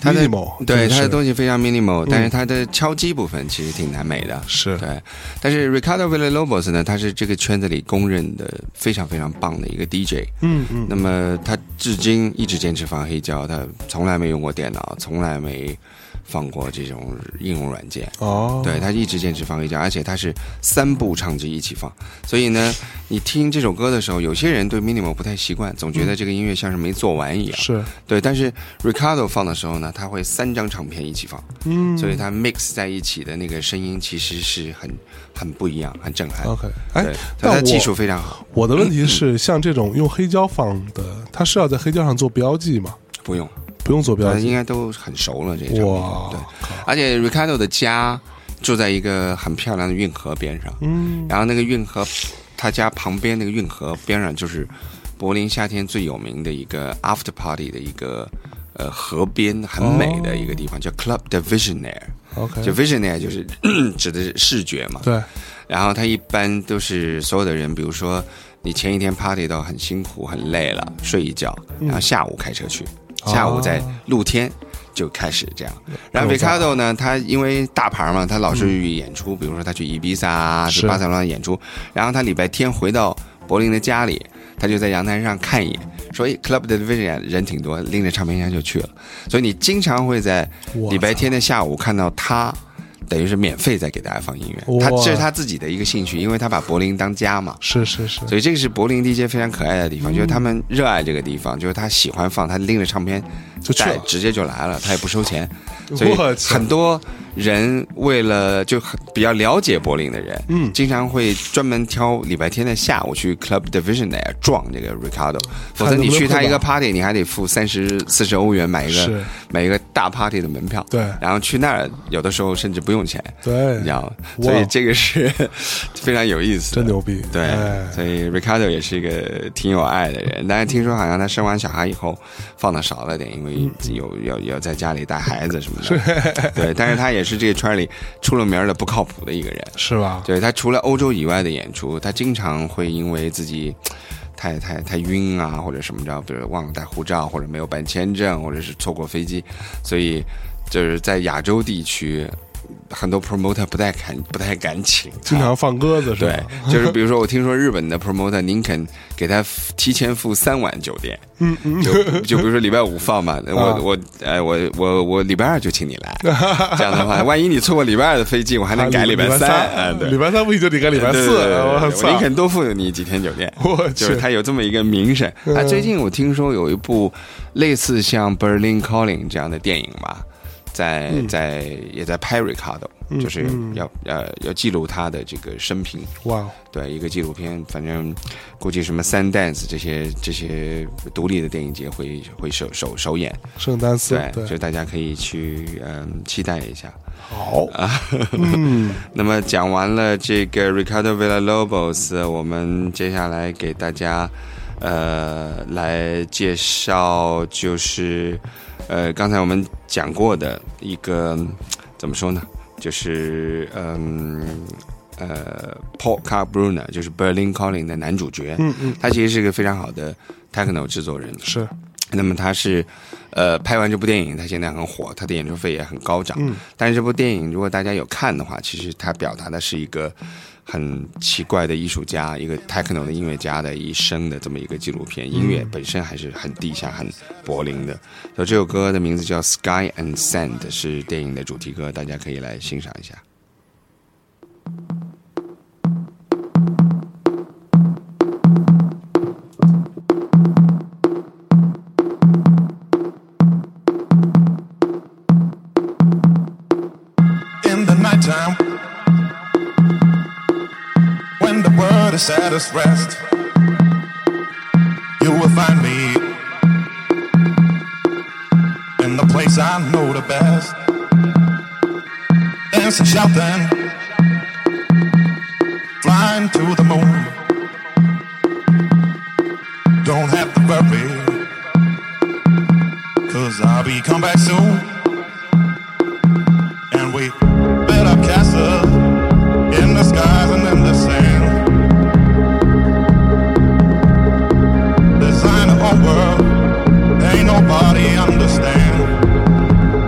它的 minimal， 对， 真是它的东西非常 minimal，、嗯、但是它的敲击部分其实挺难美的。 是， 对。但是 Ricardo Villalobos 呢，他是这个圈子里公认的非常非常棒的一个 D J。 嗯嗯。 那么他至今一直坚持放黑胶，他从来没用过电脑，从来没放过这种应用软件。 哦。 对，他一直坚持放黑胶，而且他是三部唱机一起放。所以呢，你听这首歌的时候，有些人对 minimal 不太习惯，总觉得这个音乐像是没做完一样。 是。 对，但是 Ricardo 放的时候呢，他会三张唱片一起放， 嗯， 所以他 mix 在一起的那个声音其实是很很不一样，很震撼。 OK， 哎， 但他技术非常好。 我的问题是，嗯、像这种用黑胶放的，他是要在黑胶上做标记吗？ 不用， 不用做标记， 应该都很熟了这些。 哇， 对，而且 Ricardo 的家住在一个很漂亮的运河边上， 嗯， 然后那个运河，他家旁边那个运河边上就是柏林夏天最有名的一个 after party 的一个。呃，河边很美的一个地方、哦、叫 Club de Visionaire。OK， 就 Visionaire 就是指的是视觉嘛。 对。 然后它一般都是所有的人，比如说你前一天 party 到很辛苦、很累了，睡一觉，然后下午开车去，嗯、下午在露天就开始这样。哦、然后 Ricardo 呢，他因为大牌嘛，他老是演出，嗯、比如说他去伊比萨、去巴塞罗那演出，然后他礼拜天回到柏林的家里。他就在阳台上看一眼，说 Club de Vision 人挺多，拎着唱片箱就去了。所以你经常会在礼拜天的下午看到他，等于是免费在给大家放音乐。他这是他自己的一个兴趣，因为他把柏林当家嘛。 是是是。 所以这个是柏林 D J 非常可爱的地方，嗯、就是他们热爱这个地方，就是他喜欢放，他拎着唱片就去了， 直接就来了，他也不收钱。所以很多人为了就很比较了解柏林的人，嗯，经常会专门挑礼拜天的下午去 Club de Visionaire 撞这个 Ricardo， 否则你去他一个 party， 你还得付三十四十欧元买一个买一个大 party 的门票， 对， 然后去那儿有的时候甚至不用钱， 对， 你知道吗？所以这个是非常有意思的， 真牛逼， 对，所以 Ricardo 也是一个挺有爱的人，但是听说好像他生完小孩以后放的少了点，因为有有有在家里带孩子什么的，对，但是他也是这个圈里出了名的不靠谱的一个人， 是吧？ 对，他除了欧洲以外的演出，他经常会因为自己太太太晕啊，或者什么着，比如忘了带护照，或者没有办签证，或者是错过飞机，所以就是在亚洲地区。很多 promoter 不太敢不太敢请， 经常放鸽子是吧？ 对，就是比如说我听说日本的 promoter 宁肯给他提前付三晚酒店， 嗯嗯， 就就比如说礼拜五放嘛，我、啊、我呃我我我礼拜二就请你来，这样的话，万一你错过礼拜二的飞机，我还能改礼拜三，啊，对， 礼拜三不行就得改礼拜四， 我宁肯多付你几天酒店，就是他有这么一个名声。啊，最近我听说有一部类似像 Berlin Calling 这样的电影吧。在在也在拍 Ricardo，嗯、就是要要要记录他的这个生平。 哇， 对，一个纪录片，反正估计什么 Sundance 这些这些独立的电影节会会首首首演。 圣丹斯， 对，就大家可以去嗯期待一下。 好啊，嗯，那么讲完了这个 Ricardo Villalobos， 我们接下来给大家呃来介绍就是。呃，刚才我们讲过的一个怎么说呢？就是嗯呃 ，Paul Kalkbrenner， 就是 Berlin Calling 的男主角。 嗯嗯， 他其实是个非常好的 techno 制作人。 是。 那么他是呃拍完这部电影，他现在很火，他的演出费也很高涨。 嗯。 但是这部电影如果大家有看的话，其实他表达的是一个很奇怪的艺术家，一个 techno 的音乐家的一生的这么一个纪录片。音乐本身还是很地下、很柏林的。所以这首歌的名字叫 Sky and Sand， 是电影的主题歌，大家可以来欣赏一下。 At its rest, you will find me in the place I know the best, dancing, shouting, flying to the moon. Don't have to worry, 'cause I'll be come back soon, and we build up castles in the skies and in the sand. World, ain't nobody understand.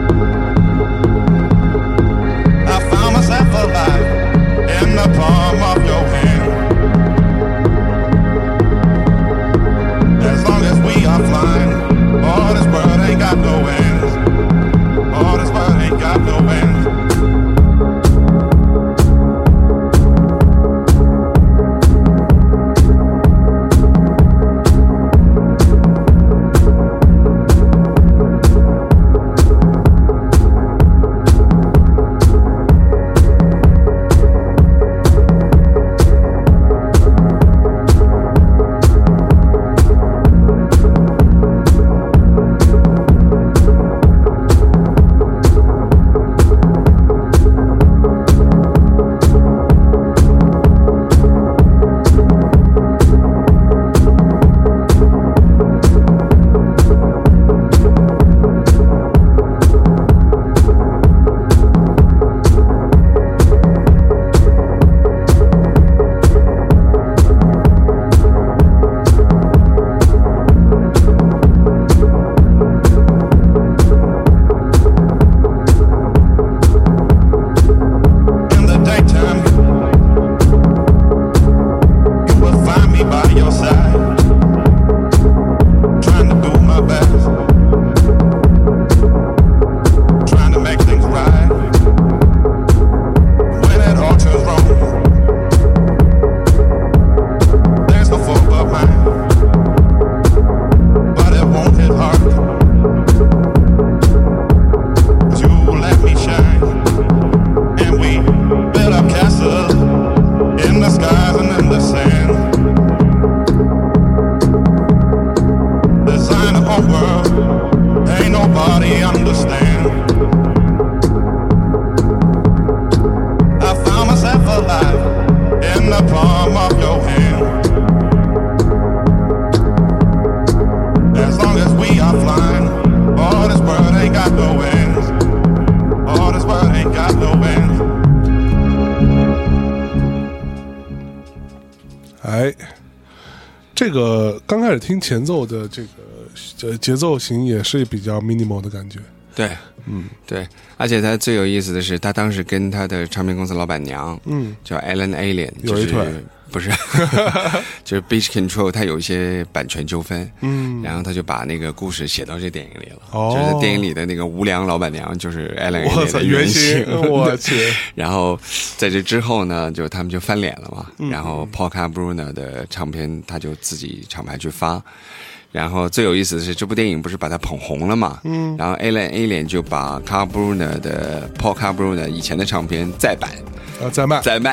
哎，这个刚开始听前奏的这个呃节奏型也是比较 minimal 的感觉。 对，嗯，对，而且他最有意思的是，他当时跟他的唱片公司老板娘，嗯，叫 Ellen Alien， 有一腿。 就是不是，就是 Beach Control， 它有一些版权纠纷，嗯，然后他就把那个故事写到这电影里了，哦，就是在电影里的那个无良老板娘就是 Ellen Alien 的原型， 我去。 然后在这之后呢，就他们就翻脸了嘛，嗯、然后 Polka Bruner 的唱片他就自己厂牌去发。然后最有意思的是，这部电影不是把它捧红了嘛？嗯。然后 Alan Alien 就把 Carl Bruner 的 Paul Carl Bruner 以前的唱片再版， 啊，再卖， 再卖。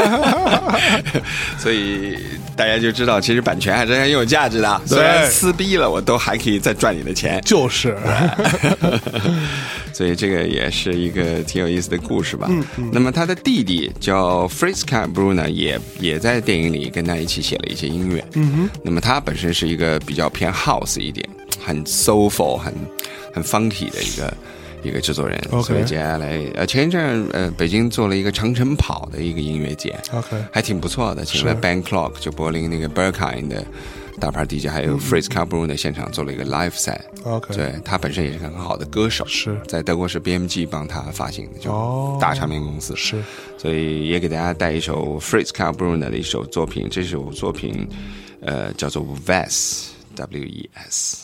所以大家就知道，其实版权还是很有价值的。虽然撕逼了，我都还可以再赚你的钱。 就是。 所以这个也是一个挺有意思的故事吧。嗯嗯。那么他的弟弟叫 Fritz Carl Bruner， 也也在电影里跟他一起写了一些音乐。嗯哼。那么他本身是一个比较偏 house 一点，很 soulful， 很很 funky 的一个一个制作人。Okay. 所以接下来呃前一阵呃北京做了一个长城跑的一个音乐节。OK。还挺不错的，请了 Band Clock 就柏林那个 Berghain 的大牌 D J， 还有 Fritz Carl Bruner 现场做了一个 live set。OK。对，他本身也是个很好的歌手，是在德国是 B M G 帮他发行的，就大唱片公司。是。所以也给大家带一首 Fritz Carl Bruner 的一首作品，这首作品呃叫做 Wes W E S。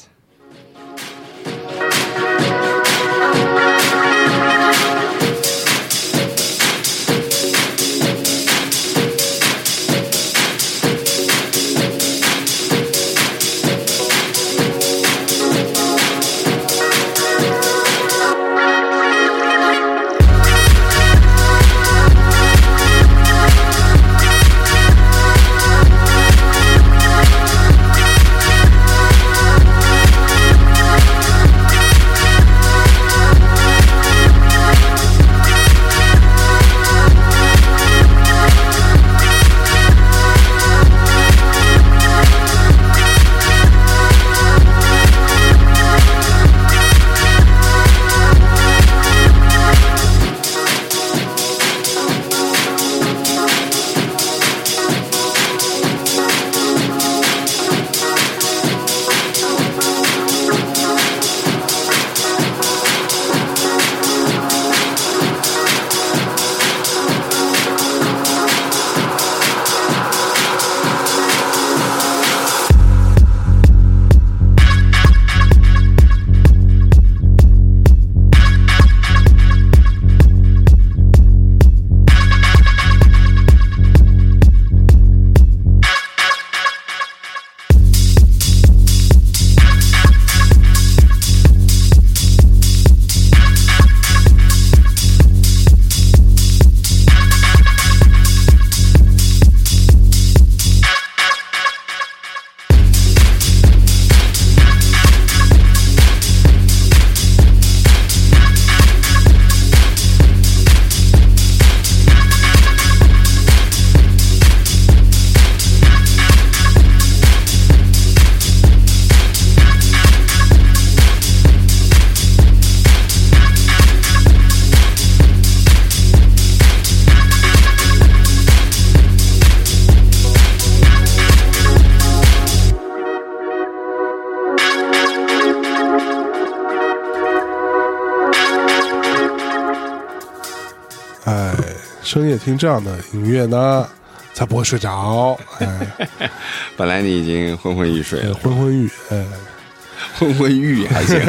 深夜听这样的音乐呢，才不会睡着。哎， 本来你已经昏昏欲睡了， 昏昏欲，哎， 昏昏欲还行。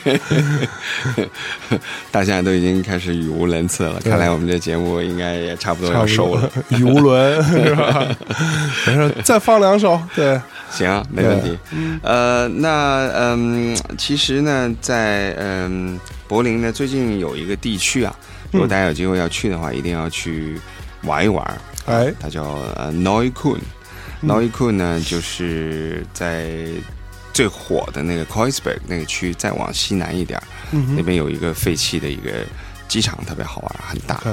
大家都已经开始语无伦次了，看来我们这节目应该也差不多要收了， 语无伦是吧？没事，再放两首，对， 行，没问题。呃，那嗯，其实呢，在嗯柏林呢，最近有一个地区啊。如果大家有机会要去的话，一定要去玩一玩。哎，它叫呃 Neukölln。Neukölln 呢，就是在最火的那个 Kreuzberg 那个区，再往西南一点，嗯、那边有一个废弃的一个机场，特别好玩，很大。Okay.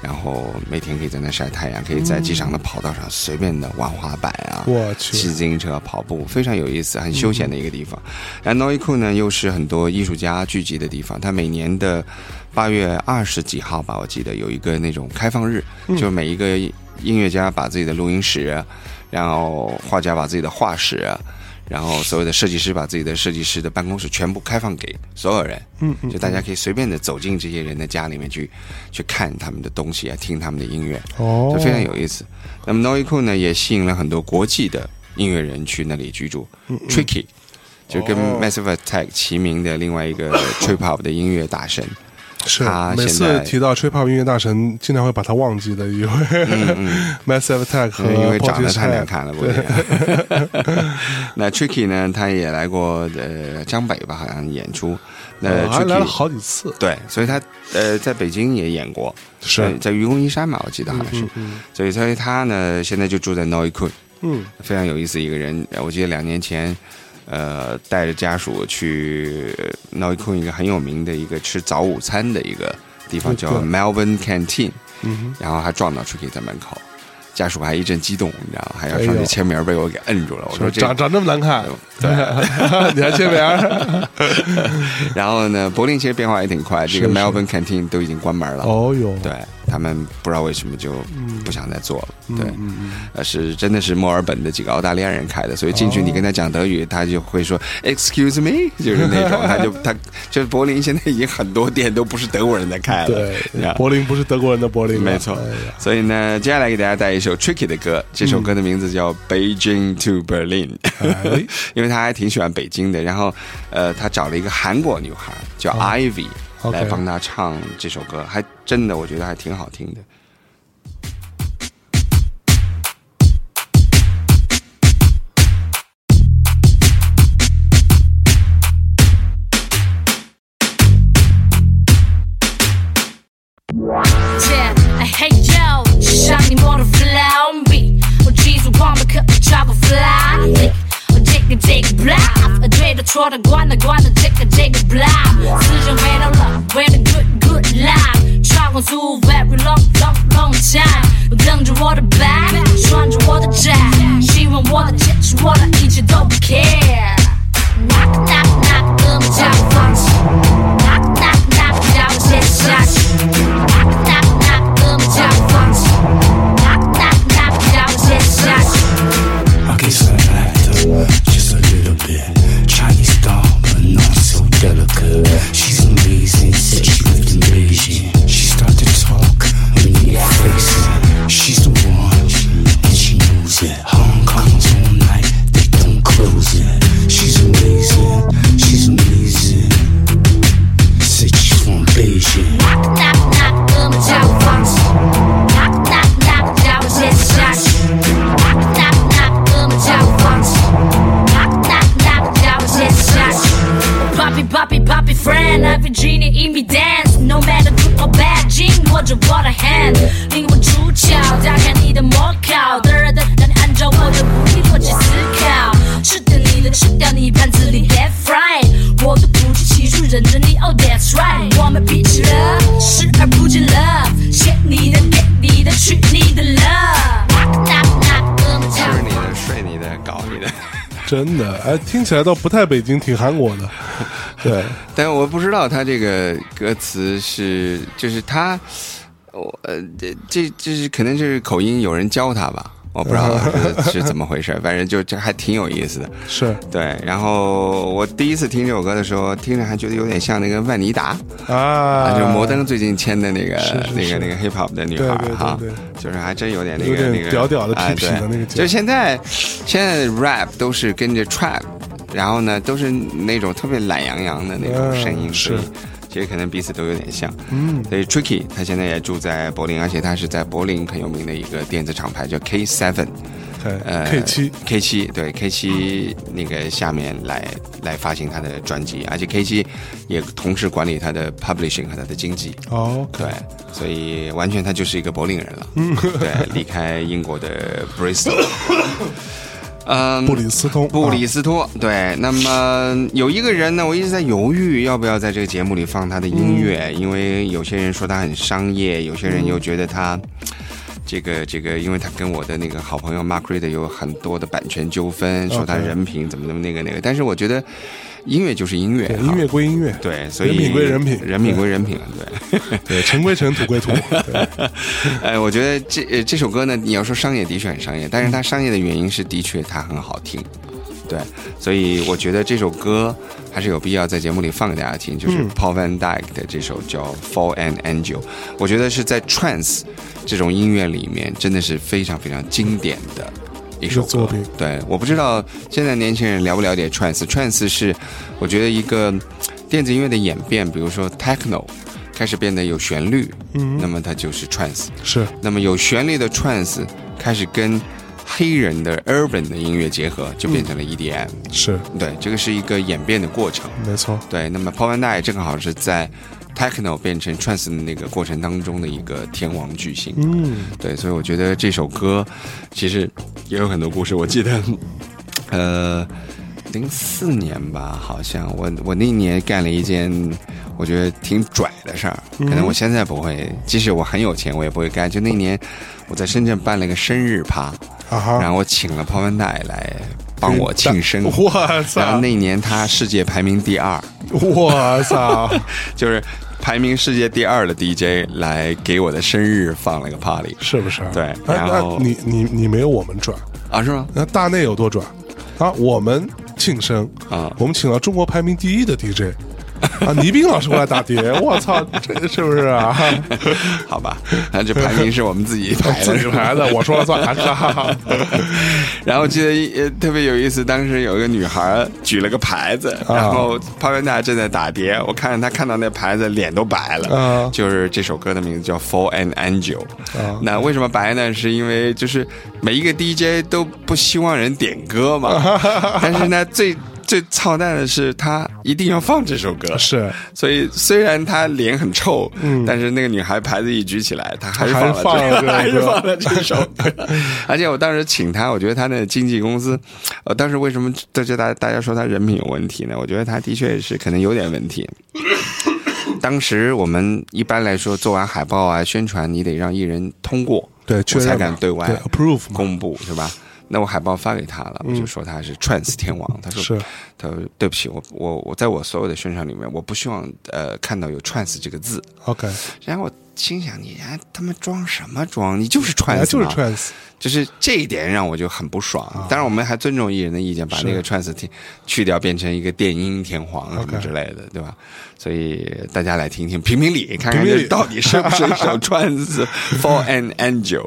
然后每天可以在那晒太阳，可以在机场的跑道上随便的玩滑板啊， 我去骑自行车、跑步，非常有意思，很休闲的一个地方。然后 Noi Ku 呢，又是很多艺术家聚集的地方，它每年的八月二十几号吧，我记得有一个那种开放日， 嗯、 就每一个音乐家把自己的录音室，然后画家把自己的画室，然后所有的设计师把自己的设计师的办公室全部开放给所有人， 嗯嗯， 就大家可以随便的走进这些人的家里面去，去看他们的东西啊，听他们的音乐， 哦， 就非常有意思。那么 Noi Ku 呢，也吸引了很多国际的音乐人去那里居住。嗯嗯 Tricky 就跟 Massive Attack 齐名的另外一个 Trip Hop 的音乐大神。 是，每次提到 Trip Hop 音乐大神，经常会把他忘记的一位、嗯嗯、Massive Attack 和因为长得太难看了，不那 Tricky 呢，他也来过呃江北吧，好像演出。那、 哦、还来了好几次。 对，所以他呃在北京也演过， 是、 呃、在愚公移山嘛，我记得好像是。嗯嗯嗯、所以所以他呢，现在就住在 Noi Ku， 嗯，非常有意思一个人。我记得两年前。呃，带着家属去 Noi Ku 一个很有名的一个吃早午餐的一个地方，叫 Melbourne Canteen，、嗯、然后还撞到 Tricky 在门口，家属还一阵激动，你知道，还要上去签名，被我给摁住了。我说这长长这么难看， 对， 你还签名？ 然后呢，柏林其实变化也挺快，这个 Melbourne Canteen 都已经关门了。 哦哟， 对。他们不知道为什么就不想再做了， 嗯、 对， 嗯嗯呃，是真的是墨尔本的几个澳大利亚人开的，所以进去你跟他讲德语，哦、他就会说 "Excuse me"， 就是那种，他就他就是柏林现在已经很多店都不是德国人在开了， 对，柏林不是德国人的柏林， 没错。哎、所以呢，接下来给大家带一首 Tricky 的歌，这首歌的名字叫《Beijing to Berlin》，哎、因为他还挺喜欢北京的，然后呃，他找了一个韩国女孩叫 Ivy。哦来帮他唱这首歌，还真的我觉得还挺好听的。 说的关的关的这个这个 blah 思想回到了 with a good good life 穿过速 very long long long time 等着我的 back 穿着我的战希望我的坚持我的一切都不 care knock knock knock 哥们叫我放弃 knock knock knock 叫我接下去 knock knock knock 哥们叫我放弃 knock knock knock 叫我接下去 I guess I like just a little bit Chinese doll, but not so delicate. She's amazing, said she lived in Beijing. She started to talk, when you face it. She's the one, and she knows it. Hong Kong's all night, they don't close it. She's amazing, she's amazing. Said she's from Beijing. Knock, knock, knock, 哥们叫我放弃 Knock, knock, knock, 叫我接下去 Knock, knock, knock, 哥们叫我放弃 Knock, knock, knock, 叫我接下去 Poppy, poppy, poppy friend Every genie in me dance No matter good or bad 紧握着我的 hand 灵魂出窍打开你的魔考的人的让你按照我的鼓励逻辑思考吃掉你的吃掉你盘子里 dead fried 我的不计其数认着你 Oh that's right 我们脾气了视而不见 love 写你的给你的去你的 love knock knock knock 哥们吃你的睡你的搞你的真的，哎，听起来倒不太北京，挺韩国的。对， 但我不知道他这个歌词是，就是他，我呃，这这这是可能是口音，有人教他吧。我不知道是是怎么回事，反正就这还挺有意思的。 是对，然后我第一次听这首歌的时候，听着还觉得有点像那个万妮达啊，就是摩登最近签的那个是是是那个那个 hip hop 的女孩哈，就是还真有点那个有点那个屌屌的痞痞的那个。 就现在现在 rap 都是跟着 trap， 然后呢都是那种特别懒洋洋的那种声音， 是。 其实可能彼此都有点像，嗯，所以 Tricky 他现在也住在柏林，而且他是在柏林很有名的一个电子厂牌叫 K 七， 呃 K 七 K 七对 K 七那个下面来来发行他的专辑，而且 K 七也同时管理他的 publishing 和他的经济， 哦， 对，所以完全他就是一个柏林人了，嗯，对，离开英国的 Bristol。 嗯， 布里斯通， 布里斯托，对。那么有一个人呢，我一直在犹豫要不要在这个节目里放他的音乐，嗯、因为有些人说他很商业，有些人又觉得他。这个这个，因为他跟我的那个好朋友 Mark Reed 有很多的版权纠纷，说他人品怎么怎么那个那个。但是我觉得音乐就是音乐， 音乐归音乐， 对，所以人品归人品， 人品归人品，对对，尘归尘，土归土。 呃，我觉得这这首歌呢，你要说商业的确很商业，但是它商业的原因是的确它很好听。对，所以我觉得这首歌还是有必要在节目里放给大家听，就是 Paul Van Dyk 的这首叫 Fall an Angel， 我觉得是在 Trance 这种音乐里面真的是非常非常经典的一首作品。 对，我不知道现在年轻人了不了解 Trance， Trance 是我觉得一个电子音乐的演变，比如说 Techno 开始变得有旋律，嗯，那么它就是 Trance， 是， 那么有旋律的 Trance 开始跟黑人的 urban 的音乐结合，就变成了 E D M，嗯、 是对，这个是一个演变的过程， 没错。 对，那么 Paul Van Dyk 正好是在 techno 变成 trance 的那个过程当中的一个天王巨星， 嗯， 对，所以我觉得这首歌其实也有很多故事。我记得，呃，零四年吧，好像我我那年干了一件我觉得挺拽的事儿，可能我现在不会，即使我很有钱，我也不会干。就那年我在深圳办了一个生日趴，啊、然后我请了 Paul Van Dyk来帮我庆生， 我操！ 然后那年他世界排名第二， 我操！ 就是排名世界第二的 D J 来给我的生日放了个 party， 是不是？ 对，然后你你你没有我们转啊？是吗？ 那大内有多转啊？我们庆生啊，我们请了中国排名第一的 D J。啊，倪斌老师过来打碟，我操，这是不是啊？ 好吧，那这排名是我们自己排的， 自己排的，我说了算。 然后记得特别有意思，当时有一个女孩举了个牌子，啊、然后Paul Van Dyk正在打碟，我看她看到那牌子脸都白了，啊、就是这首歌的名字叫 Fall an Angel，啊、那为什么白呢？是因为就是每一个 D J 都不希望人点歌嘛，但是呢最。最操蛋的是，他一定要放这首歌， 是， 所以虽然他脸很臭，嗯，但是那个女孩牌子一举起来，他还是放了这个，还是放了这首歌。而且我当时请他，我觉得他的经纪公司，呃，当时为什么大家大家说他人品有问题呢？我觉得他的确是可能有点问题。当时我们一般来说做完海报啊、宣传，你得让艺人通过， 对， 我才敢对外 approve 公布，是吧？那我海报发给他了，我就说他是 trance 天王，他说是， 他说对不起，我我我在我所有的宣传里面，我不希望呃看到有 trance 这个字。 OK， 然后我心想，你还他妈装什么装？你就是 trance， 就是 trance， 就是这一点让我就很不爽。啊、当然，我们还尊重艺人的意见，把那个 trance 去掉，变成一个电音天皇什么之类的， okay. 对吧？所以大家来听听评评理，看看这到底是不是一首 trance for an angel。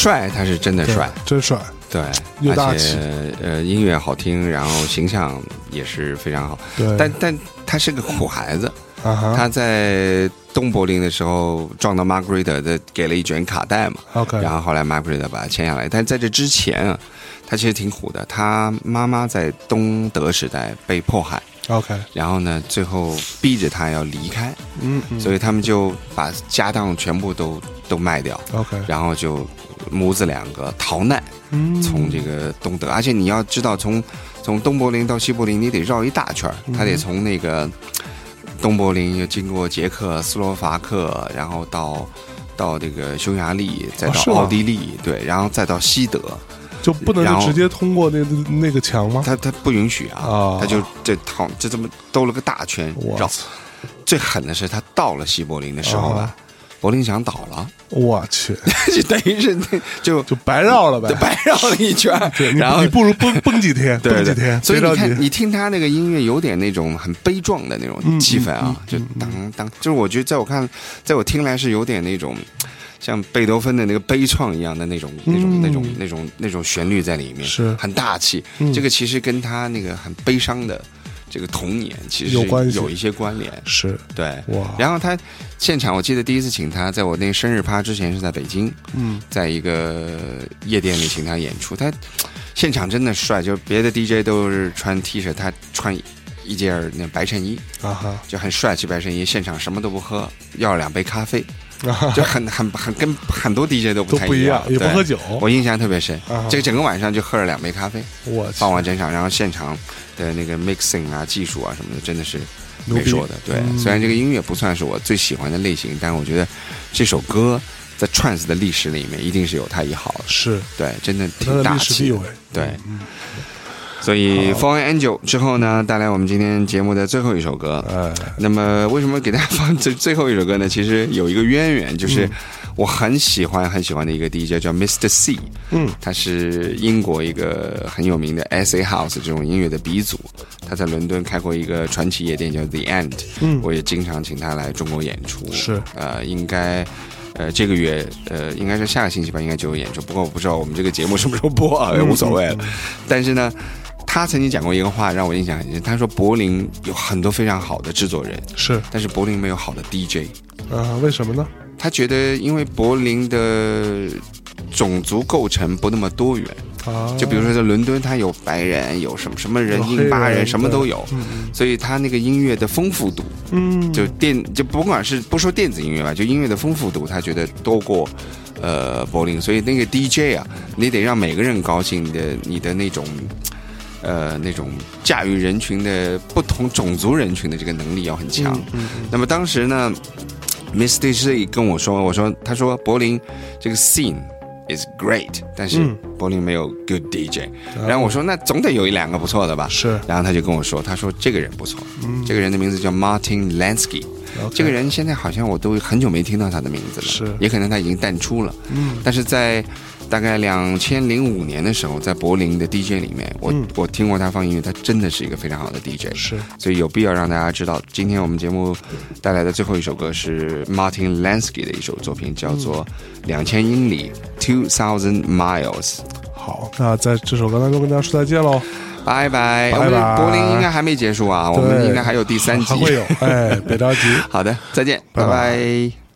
帅他是真的帅， 真帅， 对， 又大气， 而且呃音乐好听，然后形象也是非常好。 对， 但但他是个苦孩子， 啊哈， 他在东柏林的时候撞到 Margaret 的，给了一卷卡带嘛 OK， 然后后来 Margaret 把他签下来。但在这之前啊，他其实挺苦的，他妈妈在东德时代被迫害。 OK， 然后呢，最后逼着他要离开， 嗯，嗯所以他们就把家当全部都都卖掉 OK， 然后就母子两个逃难， 嗯， 从这个东德，而且你要知道从，从东柏林到西柏林，你得绕一大圈，他得从那个东柏林又经过捷克斯洛伐克，然后到到这个匈牙利，再到奥地利，哦、对，然后再到西德。 就不能就直接通过那那个墙吗？ 他他不允许啊， 啊他就这套就这么兜了个大圈绕。最狠的是他到了西柏林的时候吧，啊、柏林墙倒了， 我去， 就等于是就就白绕了呗， 白绕了一圈。 对， 然后你不如蹦蹦几天，蹦几天。 所以你看，你听他那个音乐有点那种很悲壮的那种气氛啊，就当当，就是我觉得在我看，在我听来是有点那种。像贝多芬的那个悲怆一样的那种、嗯、那种、那种、那种、那种旋律在里面， 是很大气、嗯。这个其实跟他那个很悲伤的这个童年其实有关系， 有一些关联。 是对哇。 然后他现场，我记得第一次请他，在我那个生日趴之前是在北京，嗯，在一个夜店里请他演出，他现场真的帅，就别的 D J 都是穿 T 恤，他穿一件那白衬衣啊哈， 就很帅气白衬衣，现场什么都不喝，要两杯咖啡。就很很很跟很多 D J 都不太一样，也不喝酒。 我印象特别深， 啊、 这个整个晚上就喝了两杯咖啡。 我放完整场，然后现场的那个 mixing 啊、技术啊什么的，真的是没说的。对、嗯，虽然这个音乐不算是我最喜欢的类型，但我觉得这首歌在 trance 的历史里面一定是有它一号的。 是， 对，真的挺大气的。对。 嗯所以 Fallen Angel 之后呢，带来我们今天节目的最后一首歌。 呃， 那么为什么给大家放最最后一首歌呢？其实有一个渊源，就是我很喜欢很喜欢的一个 D J 叫 Mister C， 嗯，他是英国一个很有名的 S A House 这种音乐的鼻祖，他在伦敦开过一个传奇夜店叫 The End， 嗯，我也经常请他来中国演出。 是， 呃，应该。呃，这个月呃，应该是下个星期吧，应该就有演出。不过我不知道我们这个节目什么时候播啊，也无所谓了。但是呢，他曾经讲过一个话，让我印象很深。他说柏林有很多非常好的制作人， 是， 但是柏林没有好的 D J。 啊，为什么呢？ 他觉得因为柏林的种族构成不那么多元。 啊、 就比如说在伦敦，他有白人，有什么什么人，印巴人，什么都有，嗯、所以他那个音乐的丰富度，嗯，就电就不管是不说电子音乐吧，就音乐的丰富度，他觉得多过呃柏林，所以那个 D J 啊，你得让每个人高兴，你的你的那种呃那种驾驭人群的不同种族人群的这个能力要很强。嗯嗯嗯、那么当时呢 ，Mister C 跟我说，我说他说柏林这个 scene。is great， 但是柏林没有 good D J，嗯、然后我说那总得有一两个不错的吧， 是， 然后他就跟我说，他说这个人不错，嗯、这个人的名字叫 Martin Lansky， 这个人现在好像我都很久没听到他的名字了， 是， 也可能他已经淡出了，嗯，但是在大概两千零五年的时候，在柏林的 D J 里面，我、嗯、我听过他放音乐，他真的是一个非常好的 D J， 是， 所以有必要让大家知道，今天我们节目带来的最后一首歌是 Martin Lansky 的一首作品，叫做《两千英里》two thousand miles。 好，那在这首歌当中跟大家说再见喽， 拜拜！ 拜拜！ 柏林应该还没结束啊，我们应该还有第三集， 还会有，哎，别着急。 好的，再见，拜拜。拜拜。